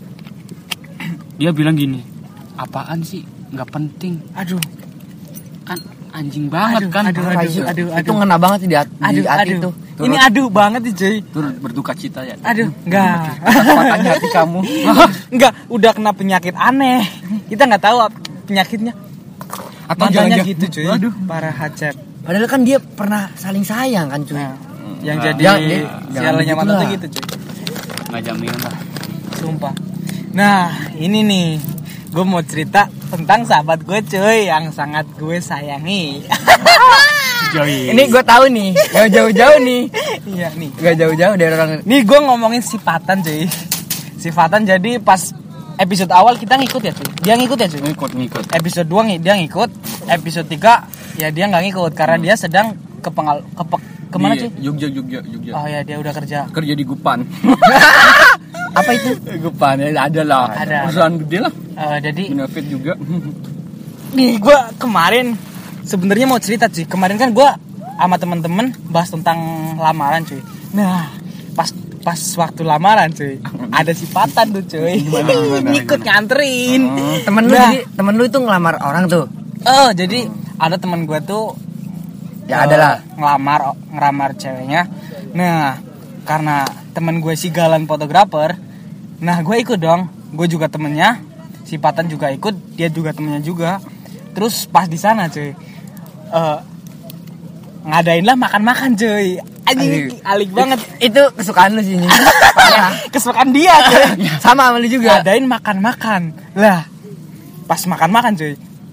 dia bilang gini, apaan sih? Nggak penting. Aduh. Kan anjing banget Aduh, kan. aduh, Apa aduh, itu? aduh, Itu aduh. ngena banget sih di, hat- di Aduh, hati aduh. itu. Ini aduh banget nih, cuy. Turut berduka cita ya. Aduh, enggak. Patahnya hati kamu. Enggak, udah kena penyakit aneh. Kita nggak tahu ap- penyakitnya. Atau Mantannya jangan-jangan- gitu, cuy. Aduh. Parah hacep. Padahal kan dia pernah saling sayang kan, cuy. Nah, yang Nah. jadi Jangan- jangan sialannya begitu mantan tuh lah. gitu, cuy. Nggak jaminan lah. Sumpah. Nah, ini nih, gue mau cerita tentang sahabat gue, cuy, yang sangat gue sayangi. Joy. Ini gue tahu nih, gak jauh-jauh nih. Iya nih. Gak jauh-jauh dari orang. Nih gue ngomongin sifatan, cuy. Sifatan jadi pas episode awal kita ngikut ya, cuy. Dia ngikut ya, cuy. ngikut ngikut. Episode dua ng- dia ngikut. Episode tiga ya dia nggak ngikut karena dia sedang ke pengal ke pe- kemana, Di cuy? Jogja, Jogja, Jogja. Oh ya, dia udah kerja. Kerja di Gupan. Apa itu? Gupan ya ada lah. Ada. Perusahaan gede lah. Eh, jadi Benefit juga. nih gue kemarin sebenarnya mau cerita, cuy. Kemarin kan gue sama temen-temen bahas tentang lamaran, cuy. Nah, pas pas waktu lamaran, cuy, ada sifatan tuh, cuy. Ngikut nganterin. Temen lu Nah. jadi temen lu itu ngelamar orang tuh. Oh, jadi ada temen gue tuh Ya eh, ada lah. ngelamar ngelamar ceweknya. Nah, karena temen gue si Galan fotografer, nah gue ikut dong. Gue juga temennya, si Patan juga ikut, dia juga temennya juga. Terus pas di sana, cuy, eh ngadain lah makan-makan, cuy. Anjing, Aduh. alik banget. Itu kesukaan lu sih ini. Parah. Kesukaan dia, cuy. Sama sama lu juga. Ngadain makan-makan. Lah, pas makan-makan, cuy,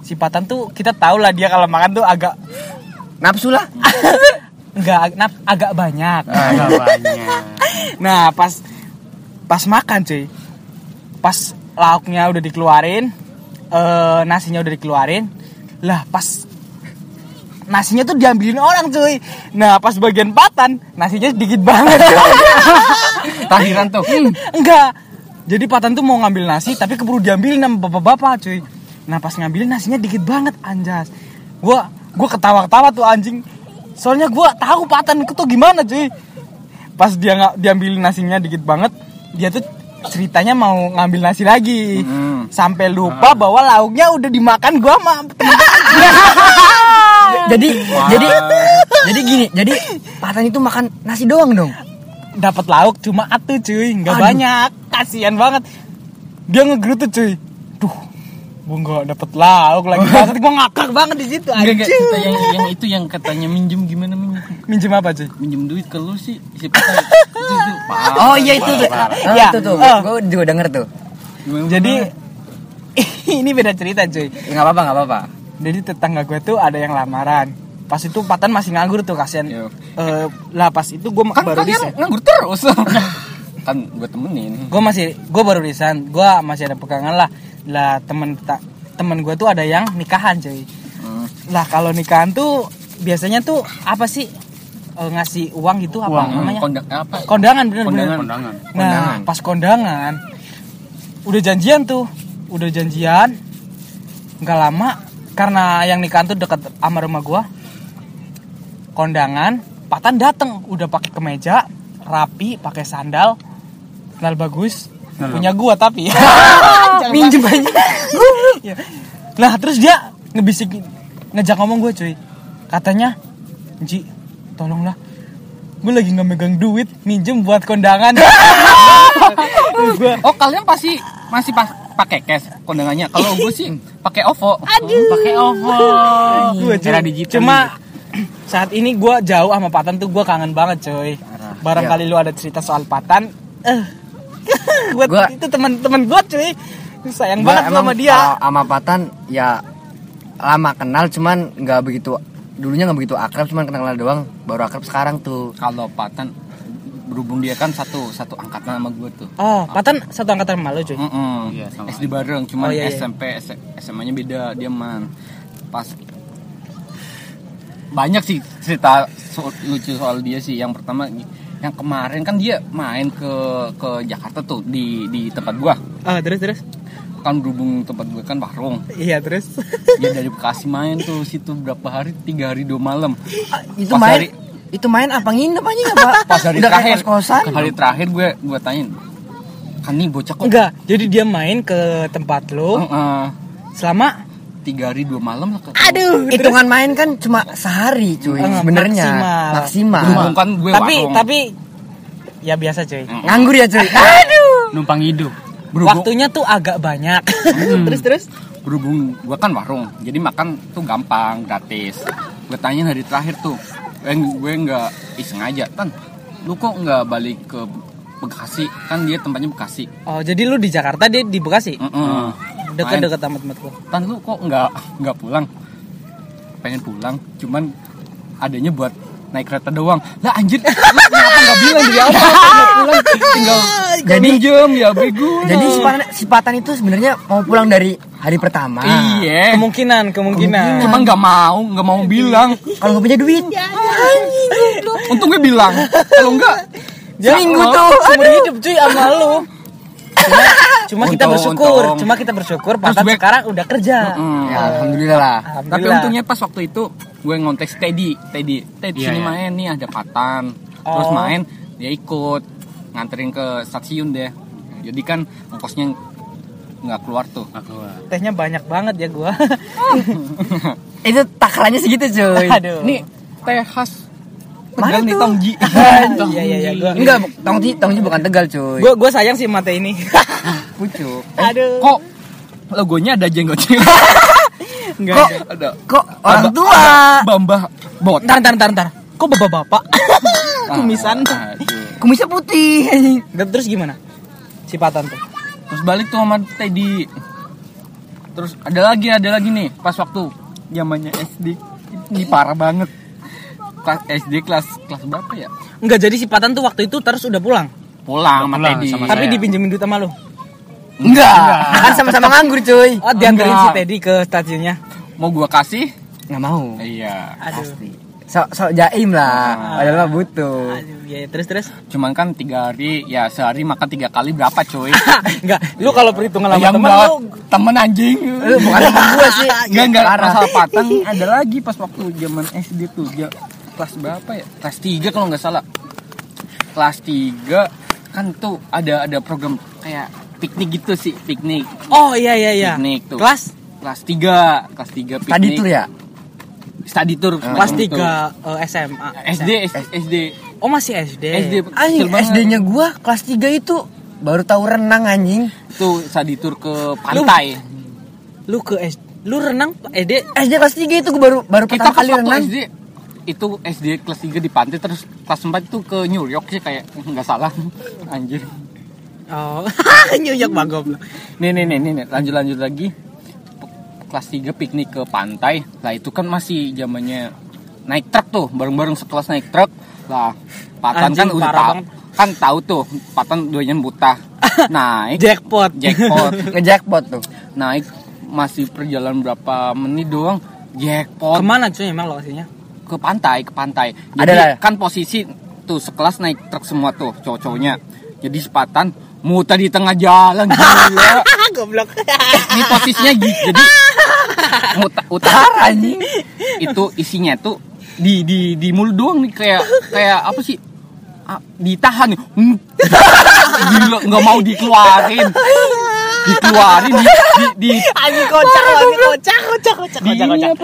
si Patan tuh kita tahu lah dia kalau makan tuh agak Nafsu lah. enggak ag- agak banyak. Agak banyak. Nah, pas pas makan cuy. Pas lauknya udah dikeluarin, eh, nasinya udah dikeluarin. Lah pas nasinya tuh diambilin orang cuy. Nah pas bagian Patan nasinya dikit banget cuy. Takdiran tuh. Hmm, enggak. Jadi Patan tuh mau ngambil nasi tapi keburu diambilin sama bapak-bapak cuy. Nah pas ngambilin nasinya dikit banget anjas. Gua gua ketawa-ketawa tuh anjing. Soalnya gua tahu Patan itu tuh gimana cuy. Pas dia nggak diambilin nasinya dikit banget, dia tuh ceritanya mau ngambil nasi lagi. Hmm. Sampai lupa bahwa lauknya udah dimakan gua sama temen-temen. Jadi jadi jadi gini, jadi Patan itu makan nasi doang dong. Dapat lauk cuma atu cuy, nggak Aduh. banyak. Kasihan banget. Dia ngegerutu cuy. Duh, gua nggak dapet lauk lagi banget. Gua ngakak banget di situ. Enggak enggak anjing. kita yang yang itu yang katanya minjem gimana minjem? Minjem apa cuy? Minjem duit ke lu sih si Patan. Itu itu. parah, Oh iya itu tuh. parah, parah. Oh, Ya. itu tuh. Oh. Gue juga denger tuh. Gimana, Jadi gimana? ini beda cerita cuy. Ya enggak apa-apa, enggak apa-apa. Jadi tetangga gue tuh ada yang lamaran. Pas itu Patan masih nganggur tuh kasihan. Yo. Eh, lah pas itu gue Kan baru kalian resign. nganggur terus. Kan gue temenin. Gue masih gue baru resign. Gue masih ada pegangan lah. Lah temen ta- temen gue tuh ada yang nikahan cuy. Hmm. Lah kalau nikahan tuh biasanya tuh apa sih? Eh, ngasih uang gitu apa Uang, namanya? Kondak apa? Kondangan bener bener. Kondangan. Kondangan. Nah, Kondangan. pas kondangan udah janjian tuh, udah janjian. Nggak lama karena yang nikahan tuh deket sama rumah gua. Kondangan, Patan dateng, udah pakai kemeja, rapi, pakai sandal, sandal bagus, Sandal. punya gua tapi. Minjem aja. Ya. Lah terus dia ngebisik ngejak ngomong gue cuy. Katanya, "Ji, tolonglah. Gue lagi nggak megang duit, minjem buat kondangan." Gua, Oh kalian pasti masih pas pakai cash kondangannya. Kalau gue sih pakai OVO. Pakai OVO. Gua, cuy. Era digital. Cuma saat ini gue jauh sama Patan tuh gue kangen banget cuy. Barangkali lu ada cerita soal Patan. Eh, buat Gua- itu teman-teman gue cuy. Sayang Gua banget gua emang sama dia. uh, sama Patan ya lama kenal cuman nggak begitu, dulunya nggak begitu akrab, cuman kenal doang, baru akrab sekarang tuh. Kalau Patan berhubung dia kan satu satu angkatan sama gue tuh. Oh, Patan satu angkatan sama lu cuy. Mm-mm. Iya, sama S D bareng, cuman Oh, iya, iya. S M P, S- SMA-nya beda, dia man. Pas banyak sih cerita so- lucu soal dia sih. Yang pertama yang kemarin kan dia main ke ke Jakarta tuh di di tempat gua. Oh, terus terus. Kan berhubung tempat gua kan warung. Iya, terus. Dia dari Bekasi main tuh situ berapa hari? Tiga hari dua malam. Itu Pas main hari- itu main apa nginep aja nggak Pak? Pas hari Udah kayak terakhir, kos-kosan. hari terakhir gue gue tanyain, kan nih bocah kok Enggak, jadi dia main ke tempat lo Heeh. selama tiga hari dua malam lah. aduh, Hitungan main kan cuma sehari cuy Eh, sebenarnya. maksimal. Maksimal. Berhubung kan gue tapi warung. tapi ya biasa cuy. Mm. Nganggur ya cuy. Aduh. Numpang hidup. Berhubung, Waktunya tuh agak banyak. terus terus. berhubung gue kan warung, jadi makan tuh gampang, gratis. Gue tanyain hari terakhir tuh, gue gue nggak iseng aja, Tan, lu kok nggak balik ke Bekasi? Kan dia tempatnya Bekasi. Oh, jadi lu di Jakarta, dia di Bekasi. Mm-mm. Dekat-dekat sama tempat gua. Tan, lu kok nggak nggak pulang? Pengen pulang, cuman adanya buat naik kereta doang. Lah anjir, lu kenapa nggak bilang dari awal? Nggak pulang, tinggal Jadi- minjem ya bego. Jadi si Patan, si Patan itu sebenarnya mau pulang dari hari pertama. Iya, Kemungkinan, kemungkinan. cuma nggak mau, nggak mau bilang. Kalau nggak punya duit. Untung gue bilang, kalau enggak Seminggu Sama- tuh. Seumur hidup cuy sama lu. Cuma, cuma kita Untung, bersyukur, untung. cuma kita bersyukur Patan gue- sekarang udah kerja. Mm. Ya, alhamdulillah lah. Tapi Alhamdulillah. untungnya pas waktu itu gue ngontek Teddy, Teddy, Teddy Iya, sini iya. main nih ada Patan. Terus Oh. main dia ikut nganterin ke stasiun deh. Jadi kan ongkosnya nggak keluar tuh. Nggak keluar. Tehnya banyak banget ya gua. Itu takarannya segitu cuy. Aduh. Nih teh khas Mana Tegal nih tuh? Tongji. Iya iya iya gua. Enggak, Tongji, Tongji bukan Tegal cuy. Gua gua sayang sih mata ini. Pucuk. Aduh. Kok logonya ada jenggotnya? Enggak. Kok enggak. ada. kok orang Ada- tua? ada Bambah bot. Ntar ntar ntar ntar. Kok bapak-bapak? Kumisan. Aduh. Kumisnya putih anjing. Dan terus gimana? Si Patan tuh. Terus balik tuh sama Teddy. Terus ada lagi, ada lagi nih pas waktu zamannya S D. Ini parah banget. Kelas S D kelas kelas berapa ya? Enggak, jadi si Patan tuh waktu itu terus udah pulang. Pulang sama pulang Teddy. sama Tapi saya. dipinjemin duit sama lu. Enggak. Kan sama-sama nganggur cuy. Oh, dianterin si Enggak. Teddy ke stasiunnya. Mau gua kasih? Nggak mau. Iya. Aduh. Sok sok jaim lah. Padahal mah butuh. Aduh, ya, terus terus. Cuman kan tiga hari, ya sehari makan tiga kali berapa coy? Enggak, lu kalau perhitungan sama Yang temen enggak, lu temen anjing. Lu bukan temen gua sih. Enggak, enggak, Parah. masalah Patang ada lagi pas waktu zaman S D tuh. Ya, kelas berapa ya? Kelas tiga kalau nggak salah. Kelas tiga kan tuh ada ada program kayak piknik gitu sih, piknik. Oh iya iya iya. Piknik tuh. Kelas Kelas tiga, kelas tiga piknik. Tadi tuh ya. Study tour. kelas semacam itu. tiga eh, S M A. S D, S D. Oh, masih S D. S D. Anjing kecil banget. S D-nya gua kelas tiga itu baru tahu renang anjing. Tuh study tour ke pantai. Lu ke S D. Lu renang S D. S D kelas tiga itu gua baru baru Kita pertama pas kali waktu renang. S D itu S D kelas tiga di pantai, terus kelas empat itu ke New York sih kayak nggak salah. Anjir. Oh, New York bang goblok. Nih nih nih nih nih, lanjut lanjut lagi. P- Kelas tiga piknik ke pantai. Lah itu kan masih zamannya naik truk tuh, bareng-bareng sekelas naik truk. Lah, Patan Anjing, kan udah parah tahu. banget. Kan tahu tuh, Patan duanya buta. Naik Jackpot. jackpot. Ngejackpot tuh. Naik masih perjalanan berapa menit doang. Jackpot. Kemana cuy emang lokasinya? Ke pantai, ke pantai. Jadi Adalah. kan posisi tuh sekelas naik truk semua tuh cowok-cowoknya. Jadi sepatan muter di tengah jalan gila. Goblok. Ini posisinya gitu. Jadi muter utara anjing. Itu isinya tuh di di di mulut doang nih kayak kayak apa sih? Ah, ditahan nih. Hmm. Gila nggak mau dikeluarin. Dikeluarin di di, di Anjing kocak, anjing kocak, kocak, kocak, di kocak, ini kocak. apa?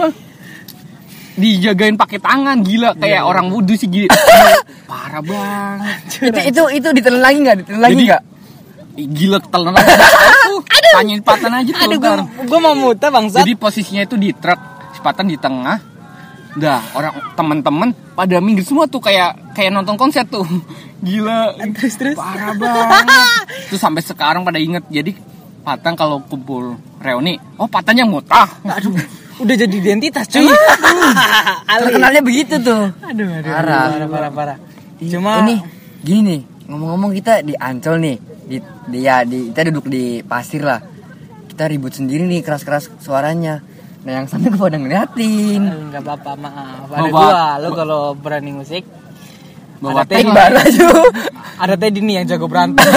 Dijagain pakai tangan gila kayak orang wudhu sih gila. Parah banget. Itu itu itu ditelan lagi enggak? Ditelan lagi Jadi- enggak? Gila ketelan lagi. Aduh, tanyain Patan aja tuh. Aduh, ntar. gua, gua mau muter bangsat. Jadi posisinya itu di truk, Patan di tengah. Dah, orang teman-teman pada minggir semua tuh kayak kayak nonton konser tuh. Gila. Terus terus. Parah banget. Terus sampai sekarang pada inget. Jadi Patan kalau kumpul reuni, oh Patan yang mutah. Aduh, udah jadi identitas cuy. Terkenalnya begitu tuh. Aduh, aduh, Parah. parah, parah, parah. Ih, Cuma ini gini nih, ngomong-ngomong kita di Ancol nih. Di, di ya di kita duduk di pasir lah. Kita ribut sendiri nih keras-keras suaranya. Nah, yang sana gue pada ngeliatin. enggak apa-apa, maaf. Ada Bawa- gua, lo kalau berani musik. Bawa Ada teh Tik baru aja. Ada Teddy nih yang jago berantem.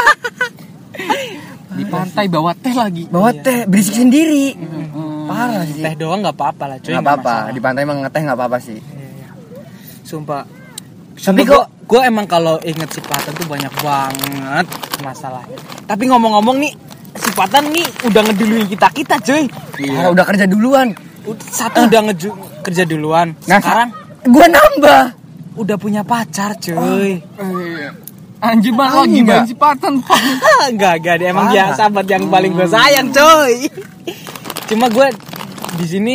di pantai bawa teh lagi. Bawa teh berisik sendiri. Hmm. Parah sih. Teh doang enggak apa-apa lah cuy. Nggak nggak apa-apa. masalah. Di pantai emang ngeteh nggak apa-apa sih. Iya, iya. Sumpah. Tapi Tapi kok- kok gue emang kalau inget si Patan tuh banyak banget masalahnya. Tapi ngomong-ngomong nih, si Patan nih udah ngeduluin kita kita cuy. Parah, udah kerja duluan. Ud- Satu udah ngeju kerja duluan. Nah, Sekarang gue nambah. udah punya pacar cuy. Eh, Anjir banget lagi Anjing, main nggak? si Patan. Enggak, enggak dia emang Parah. dia sahabat yang paling gue sayang cuy. Cuma gue di sini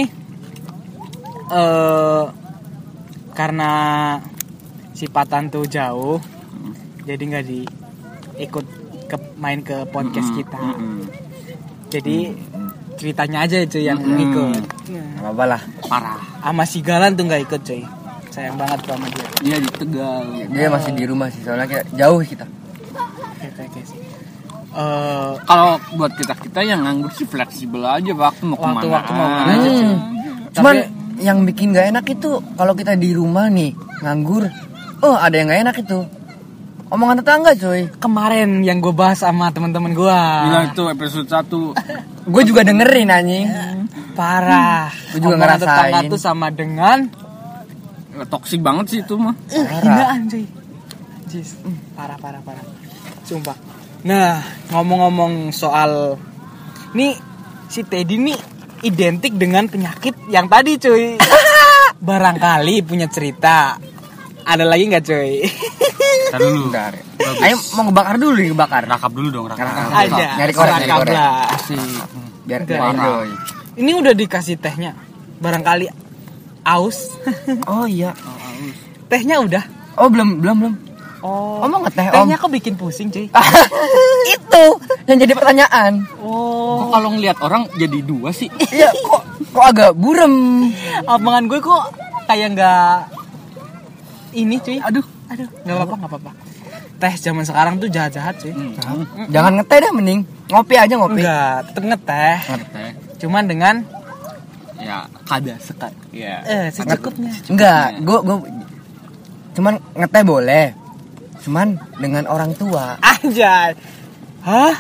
eh karena si Patan tuh jauh, jadi nggak di ikut ke main ke podcast kita. Mm-mm. Jadi ceritanya aja cuy yang Mm-mm. ikut. Nggak apa-apa lah. Parah. Sama si Galan tuh nggak ikut cuy. Sayang banget tuh sama dia. Dia di Tegal. Dia masih di rumah sih, soalnya kayak jauh kita. Oke oke oke sih. Eh, Kalau buat kita kita yang nganggur sih fleksibel aja waktu mau kemana. Waktu-waktu mau kemana aja, cuy. Hmm. Cuman yang bikin gak enak itu kalau kita di rumah nih nganggur, oh ada yang gak enak itu omongan tetangga coy. kemarin yang gue bahas sama teman-teman gue. Gila itu episode satu. Gue juga dengerin anjing. Parah. Gua juga Omongan ngerasain. tetangga tuh sama dengan Toksik banget sih itu mah. uh, hinaan cuy. Jis. Parah parah parah. Sumpah. Nah, ngomong-ngomong soal nih si Teddy nih identik dengan penyakit yang tadi cuy. Barangkali punya cerita. Ada lagi nggak cuy? Ntar dulu. Bentar. Bagus. Ayo mau ngebakar dulu nih, ngebakar. Rakap dulu dong, rakap. Rakap. Aja. Nyari korek, nyari korek. Rakablah. Asik. Biar Enggak. biar enjoy. Ini udah dikasih tehnya. Barangkali aus. Oh iya. Tehnya udah. Oh belum belum belum. Oh. Om mau ngeteh, Om? Tehnya kok bikin pusing, cuy? Itu yang jadi pertanyaan. Oh. Kok kalau ngelihat orang jadi dua sih? Iya, kok kok agak burem. Omongan gue kok kayak nggak ini, cuy. Aduh, aduh, nggak apa-apa, nggak apa-apa. Teh zaman sekarang tuh jahat-jahat, cuy. Hmm. Jangan ngeteh dah mending. Ngopi aja ngopi. Enggak, tetep ngeteh. Ngeteh. Cuman dengan Ya, kada sekat. Ya. eh secukupnya. Enggak, gua gua cuman ngeteh boleh. Cuman dengan orang tua. Anjay. Hah?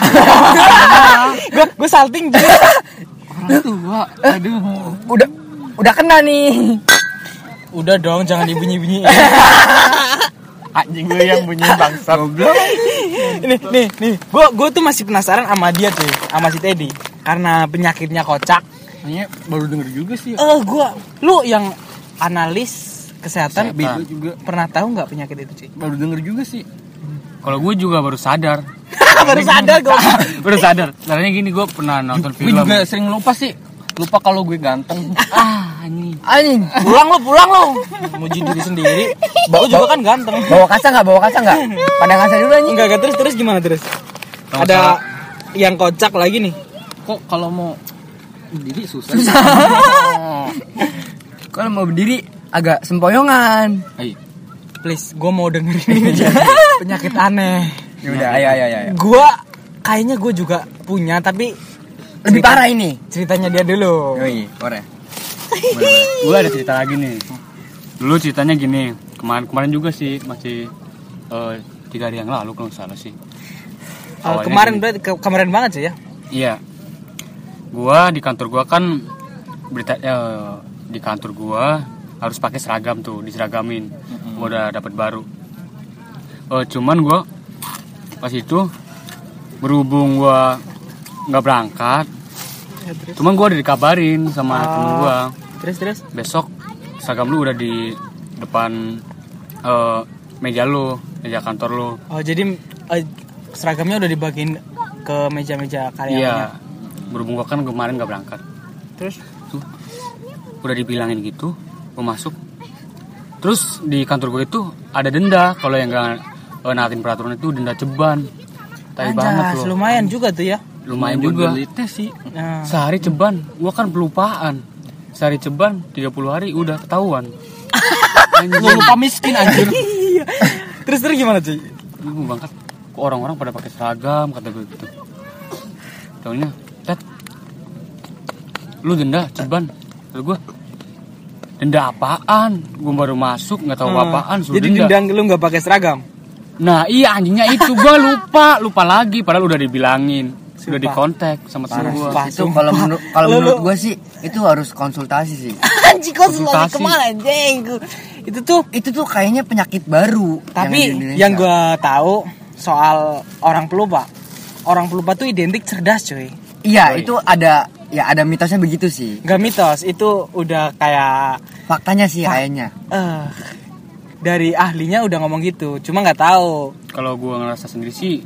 Gue gue salting juga. Orang tua. Aduh. Udah udah kena nih. Udah dong, jangan dibunyi-bunyiin. Anjing gue yang bunyi bangsat. nih, nih, nih. Gue gue tuh masih penasaran sama dia tuh, sama si Teddy. Karena penyakitnya kocak. Kayaknya baru denger juga sih. Eh, gue, lu yang analis kesehatan, Kesehatan. Bego juga. pernah tahu nggak penyakit itu, cuy? Baru denger juga sih. Kalau gue juga baru sadar. Baru sadar gue. Baru sadar. Caranya gini, gue pernah nonton film. Gue juga sering lupa sih. Lupa kalau gue ganteng. Ah, anjing. Anjing. Pulang lu, pulang lu. Muji diri sendiri. Gue juga kan ganteng. Bawa kaca enggak? Bawa kaca enggak? Pada kaca dulu anjing. Enggak, enggak, terus terus gimana terus? Kalau Ada salah- yang kocak lagi nih. Kok kalau mau berdiri susah. Kalau mau berdiri agak sempoyongan. Ayo. Please, gue mau dengerin ini aja. Penyakit aneh. Ya udah, ayo ayo ayo. Gue kayaknya gue juga punya, tapi Lebih parah ini. ceritanya dia dulu. Yoi, boleh. Gue ada cerita lagi nih. Dulu ceritanya gini. Kemarin kemarin juga sih, masih eh, tiga hari yang lalu kalau nggak salah sih. Oh, Awalnya kemarin gini. berarti ke- kemarin banget sih ya. Iya. Gua di kantor gua kan berita eh, di kantor gua harus pakai seragam tuh, diseragamin. Gua udah dapat baru. Eh, cuman gua pas itu berhubung gua nggak berangkat, Ya, terus. cuman gua udah dikabarin sama Oh. temen gua, Terus terus. besok seragam lu udah di depan eh, meja lu, meja kantor lu. Oh, jadi eh, seragamnya udah dibagiin ke meja-meja Iya. karyawannya. Berhubung gua kan kemarin nggak berangkat. Terus Tuh udah dibilangin gitu, gue masuk. Terus di kantor gue itu ada denda kalau yang nggak uh, naatin peraturan itu denda ceban. Tai banget anjas, loh. lumayan juga tuh ya. Lumayan juga. Sih. Nah, Sehari ceban, gue kan pelupaan. Sehari ceban tiga puluh hari udah ketahuan. lu lupa miskin anjir. Terus terus gimana cuy? Gue bangkat, kok orang-orang pada pakai seragam kata gue gitu. Taunya, Tet, lu denda ceban. Lalu gue, denda apaan? Gue baru masuk nggak tahu Hmm. apaan. Suruh Jadi denda. dendang lu nggak pakai seragam. Nah iya anjingnya itu gue lupa lupa lagi padahal udah dibilangin sudah Sumpah. dikontak sama temen gue. Sumpah. Itu kalau menurut kalau Lu- menurut lu- gue sih itu harus konsultasi sih. Anjing kok selalu Konsultasi. kemana anjing? Itu tuh Itu tuh kayaknya penyakit baru. tapi ada di Indonesia. yang gue tahu soal orang pelupa. Orang pelupa tuh identik cerdas cuy. Iya, Oh, itu ada ya ada mitosnya begitu sih. Gak mitos, itu udah kayak Faktanya sih kayaknya. eh dari ahlinya udah ngomong gitu. Cuma nggak tahu. Kalau gue ngerasa sendiri sih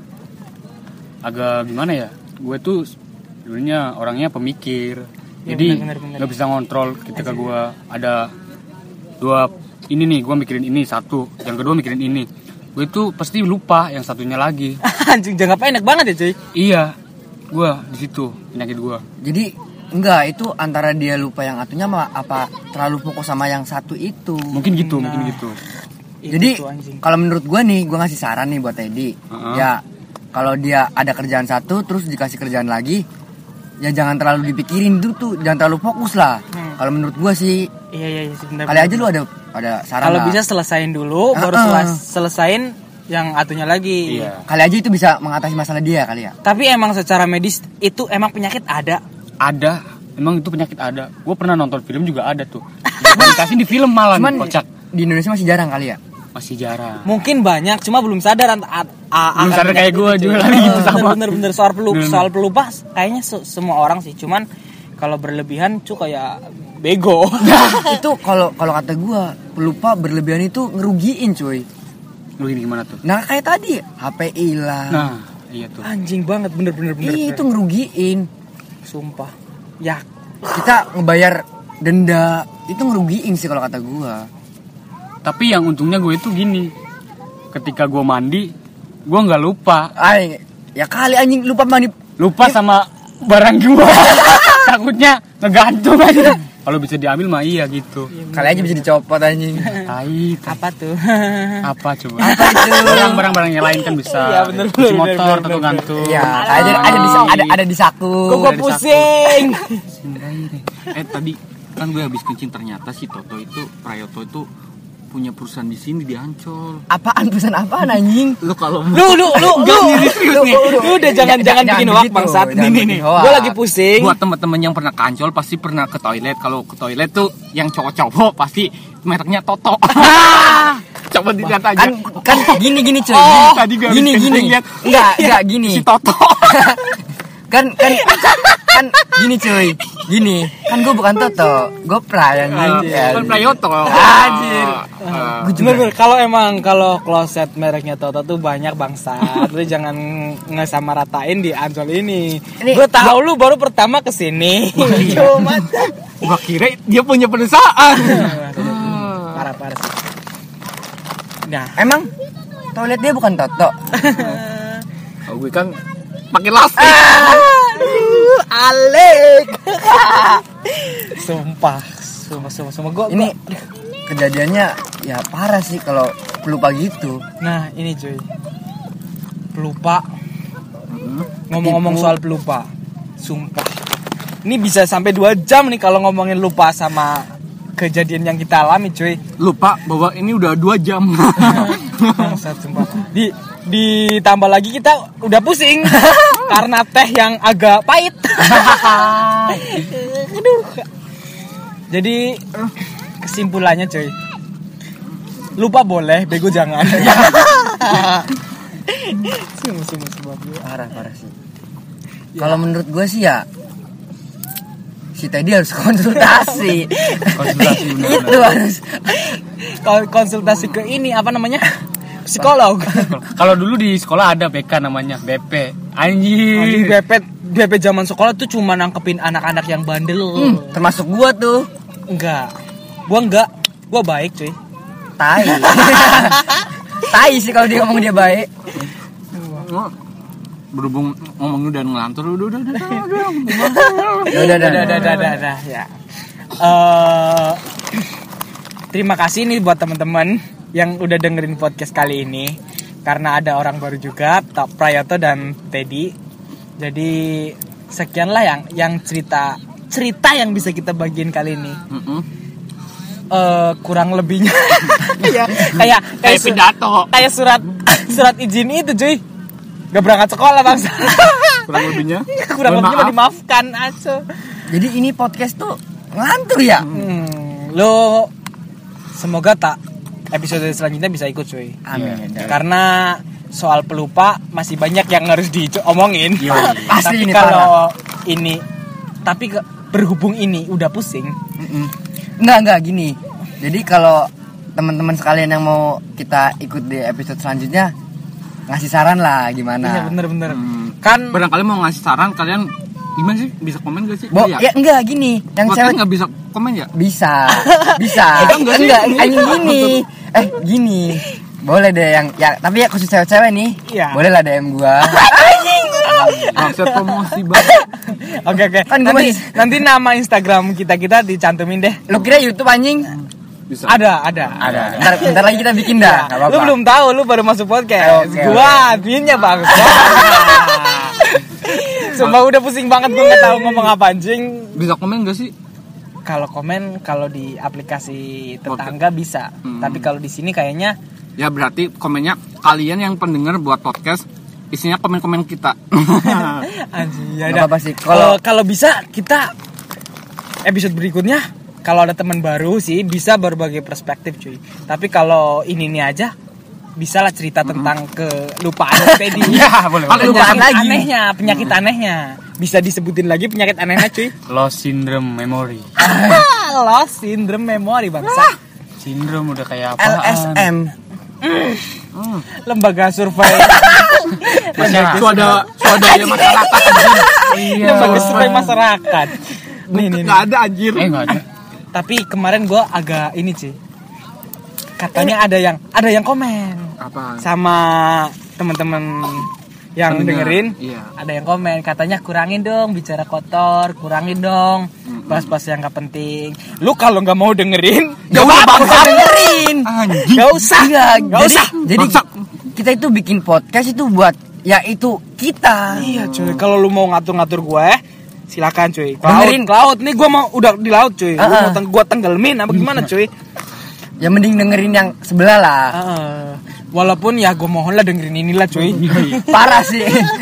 agak gimana ya, gue tuh sebenarnya orangnya pemikir, Ya, jadi benar, benar, benar. nggak bisa ngontrol ketika gue ada dua ini nih, gue mikirin ini satu, yang kedua mikirin ini, gue tuh pasti lupa yang satunya lagi. Anjing jangka pendek banget ya cuy. Iya, gue di situ penyakit gue. Jadi enggak, itu antara dia lupa yang atunya sama apa terlalu fokus sama yang satu itu. Mungkin gitu, Nah. mungkin gitu. Itu Jadi tuh, anjing. kalau menurut gua nih, gua ngasih saran nih buat Teddy. Heeh. Ya, kalau dia ada kerjaan satu terus dikasih kerjaan lagi, ya jangan terlalu dipikirin itu tuh, jangan terlalu fokus lah. Hmm. Kalau menurut gua sih, Iya iya iya sebenarnya. kali aja lu ada ada saran Kalau lah. bisa selesain dulu, baru Ah, ah. selas- selesain yang atunya lagi. Iya. Kali aja itu bisa mengatasi masalah dia kali ya. Tapi emang secara medis itu emang penyakit ada. Ada, emang itu penyakit ada. Gue pernah nonton film juga ada tuh. Dikasih di film malah Cuman nih, kocak. di Indonesia masih jarang kali ya. Masih jarang. Mungkin banyak, cuma belum sadar. Ant- a- a- Belum akan sadar kayak penyakit gua itu, juga cuy. lagi gitu, Eh, sama. Bener bener soal pelupa, Bener. soal pelupa kayaknya se- semua orang sih. Cuman kalau berlebihan tuh kayak bego. Itu kalau kalau kata gua, pelupa berlebihan itu ngerugiin cuy. Lu gini gimana tuh? Nah kayak tadi H P hilang. Nah, iya tuh. Anjing banget bener bener bener. Ih, itu bener. ngerugiin. Sumpah. Ya Kita ngebayar denda itu ngerugiin sih kalau kata gua. Tapi yang untungnya gue itu gini. ketika gue mandi, gue nggak lupa. Ay, ya kali anjing lupa mandi. Lupa sama barang gue. Takutnya ngegantung aja. Kalau bisa diambil mah iya gitu. Kali aja bisa dicopot anjing. Tai, Apa tuh? apa coba? Apa itu? Barang-barang yang lain kan bisa. Iya, bener, Kunci bener, motor bener, atau bener. gantung. Iya, ada ada di ada ada di saku. Kok gue Ada di pusing? Eh tadi kan gue habis kencing, ternyata si Toto itu, Prayoto itu punya perusahaan di sini di Ancol. saku. Apaan pesan apaan anjing? Lu kalau Lu lu lu lu serius nih. lu udah jangan jangan bikin hoax begitu, bangsat. jangan Nih nih bikin nih. hoax. Gue lagi pusing. buat teman-teman yang pernah ke Ancol pasti pernah ke toilet. Kalau ke toilet tuh yang cowok-cowok pasti mereknya Toto. Coba dilihat aja. Kan kan gini gini cuy. Oh, tadi gue habis gini kencing, gini. lihat. Enggak, enggak gini. Si Toto. kan kan kan gini cuy. Gini, kan gue bukan Toto, gue Pray anjing. Kan Prayoto. Anjir. Ah. Bener-bener kalau emang kalau kloset mereknya Toto tuh banyak bangsat. Lu jangan ngesamaratain di Ancol ini. Ini- Gue tahu lu baru pertama kesini. Cuma Gua kira dia punya perusahaan. parah parah sih. Nah, Emang toilet dia bukan Toto. Oh, gue kan pakai lastik. aduh, Alek. Sumpah, sumpah, sumpah, sumpah. Gua, Ini gua- kejadiannya ya parah sih kalau pelupa gitu. Nah, ini cuy. Pelupa. Ngomong-ngomong Ketipu. soal pelupa. Sumpah. Ini bisa sampai dua jam nih kalau ngomongin lupa sama kejadian yang kita alami, cuy. Lupa bahwa ini udah dua jam. Bangsat, sumpah. Di ditambah lagi kita udah pusing karena teh yang agak pahit. Aduh. Jadi kesimpulannya, cuy. Lupa boleh, bego jangan. Sumpah, sumpah, sumpah. Parah parah sih. Kalau menurut gue sih ya si Teddy harus konsultasi. Konsultasi, benar-benar. Itu harus. Kalau konsultasi ke ini apa namanya? Psikolog. Kalau dulu di sekolah ada B K namanya B P. Anjing, Anjing. B P B P zaman sekolah tuh cuma nangkepin anak-anak yang bandel. Hmm, termasuk gua tuh. Enggak. Gua enggak. Gua baik, cuy. Tai. Tai sih kalau dia ngomong dia baik. Berhubung ngomong udah ngelantur, udah udah udah. udah. Ya udah Udah, udah, udah, udah, udah, ya. Eh, terima kasih nih buat teman-teman yang udah dengerin podcast kali ini. Karena ada orang baru juga, Tok Prayoto dan Teddy. Jadi sekianlah yang yang cerita cerita yang bisa kita bagiin kali ini. Mm-mm. Eh, kurang lebihnya kayak kayak Kayak su- pidato. kayak surat surat izin itu, cuy. Gak berangkat sekolah bangsa. Kurang lebihnya. Kurang Mohon lebihnya maaf. dimaafkan aja. Jadi ini podcast tuh ngelantur ya. Hmm, lo semoga tak episode selanjutnya bisa ikut, cuy. Amin. Karena soal pelupa masih banyak yang harus diomongin. Pasti Tapi ini kalau ini tapi ke, berhubung ini udah pusing. Mm-mm. Enggak enggak gini. Jadi kalau teman-teman sekalian yang mau kita ikut di episode selanjutnya ngasih saran lah gimana. Iya bener-bener. Hmm. Kan Barangkali mau ngasih saran, kalian gimana sih? Bisa komen gak sih? Bo, Iya. ya enggak gini. Yang Podcast cewek nggak bisa komen ya? bisa. Bisa. Enggak, enggak sih. enggak, anjing gini. Eh, gini. Boleh deh yang ya tapi ya khusus cewek-cewek nih. Iya. Boleh lah D M gua. Maksud promosi banget. oke oke. Kan gua nanti, masih- nanti nama Instagram kita kita dicantumin deh. Lu kira YouTube anjing? Bisa. Ada, ada. Ada. Bentar, bentar lagi kita bikin dah. Enggak apa-apa. Lu belum tahu, lu baru masuk podcast. Oke, gua adminnya bang. Sumpah udah pusing banget gua nggak tahu ngomong apa anjing. Bisa komen gak sih? Kalau komen kalau di aplikasi tetangga bisa, Hmm. tapi kalau di sini kayaknya Ya berarti komennya kalian yang pendengar buat podcast isinya komen-komen kita. anjing ya Nggak udah. apa-apa sih. Kalau Kalau kalau bisa kita episode berikutnya kalau ada teman baru sih bisa berbagi perspektif, cuy. Tapi kalau ini nih aja bisa lah cerita tentang kelupaan Teddy. Ya, boleh, boleh. Penyakit Lupaan lagi. anehnya, penyakit anehnya. Bisa disebutin lagi penyakit anehnya, cuy. Lost syndrome memory. Lost syndrome memory bangsa. Syndrome udah kayak apa? L S M. Lembaga survei. Masih suada swadaya masyarakat anjing. Iya. Lembaga survei masyarakat. Nih nih. nih. Enggak ada anjir. Eh enggak ada. Tapi kemarin gue agak ini sih. katanya ada yang ada yang komen Apa? sama teman-teman yang Pendengar, dengerin. iya. Ada yang komen katanya kurangin dong bicara kotor, kurangin dong bahas-bahas yang gak penting. Lu kalau nggak mau dengerin, Ya gak udah apa-apa. bangsa dengerin. Anjing. Gak usah, Iya, gak jadi, usah. jadi kita itu bikin podcast itu buat ya itu kita. Iya cuy, kalau lu mau ngatur-ngatur gue, silakan cuy. Ke laut, Dengerin. ke laut. Nih gue mau udah di laut cuy. Lu Uh-uh. mau teng- gue tenggelmin apa gimana cuy? Ya mending dengerin yang sebelah lah. Heeh. Walaupun ya gue mohon lah dengerin inilah cuy. Parah sih.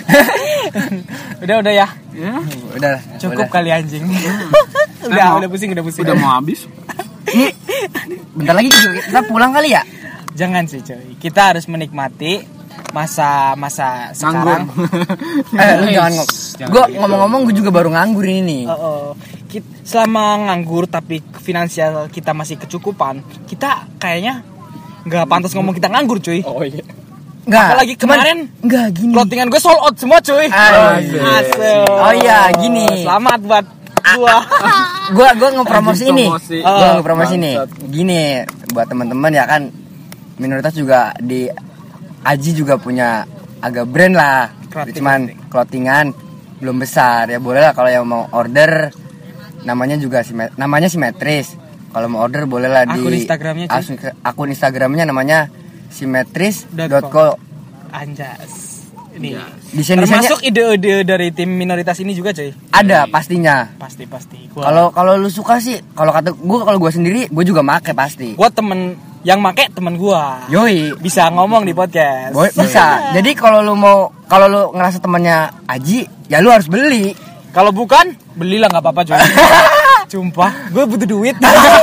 udah udah ya. Ya, Udah. Cukup udah. kali anjing. udah Emang. udah pusing udah pusing. udah mau habis. Ini bentar lagi juga kita pulang kali ya. Jangan sih cuy. Kita harus menikmati masa-masa sekarang. Eh, lu jangan ngomong. Jangan Gue gitu. ngomong-ngomong gue juga baru nganggur ini nih. Oh, oh. Kit- selama nganggur tapi finansial kita masih kecukupan, kita kayaknya nggak pantas ngomong kita nganggur cuy. Oh iya. Enggak. Apalagi kemarin enggak gini. clothingan gue sold out semua cuy. Asik. Asik. Oh iya, gini. Selamat buat gua. Gua gua ngepromosi Anjing ini. promosi. Gua Oh, ngepromosi ini. bangsat. Gini buat teman-teman ya kan minoritas juga di Aji juga punya agak brand lah. Clothing, Cuman clothingan belum besar ya boleh lah kalau yang mau order namanya juga simet- namanya simetris. Kalau mau order boleh lah di Akun Instagramnya, cuy. asun- akun Instagramnya namanya simetris Dot dot co. co. Anjas. Ini. Desain-desainnya Termasuk ide-ide dari tim minoritas ini juga cuy. ada pastinya. Pasti pasti. Gua Kalau kalau lu suka sih, kalau kata gua kalau gua sendiri, gua juga make pasti. gua temen yang make temen gua. Yoi, Bisa ngomong di podcast. Boy, bisa. Jadi kalau lu mau kalau lu ngerasa temannya Aji, ya lu harus beli. Kalau bukan, belilah nggak apa-apa cuy. Sumpah, gue butuh duit.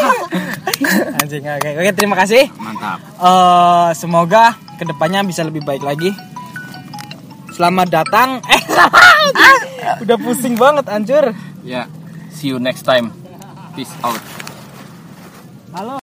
Anjing, oke, oke terima kasih. Mantap. Eh, semoga kedepannya bisa lebih baik lagi. Selamat datang. Eh, udah pusing banget, anjur. Ya, see you next time. Peace out. Halo.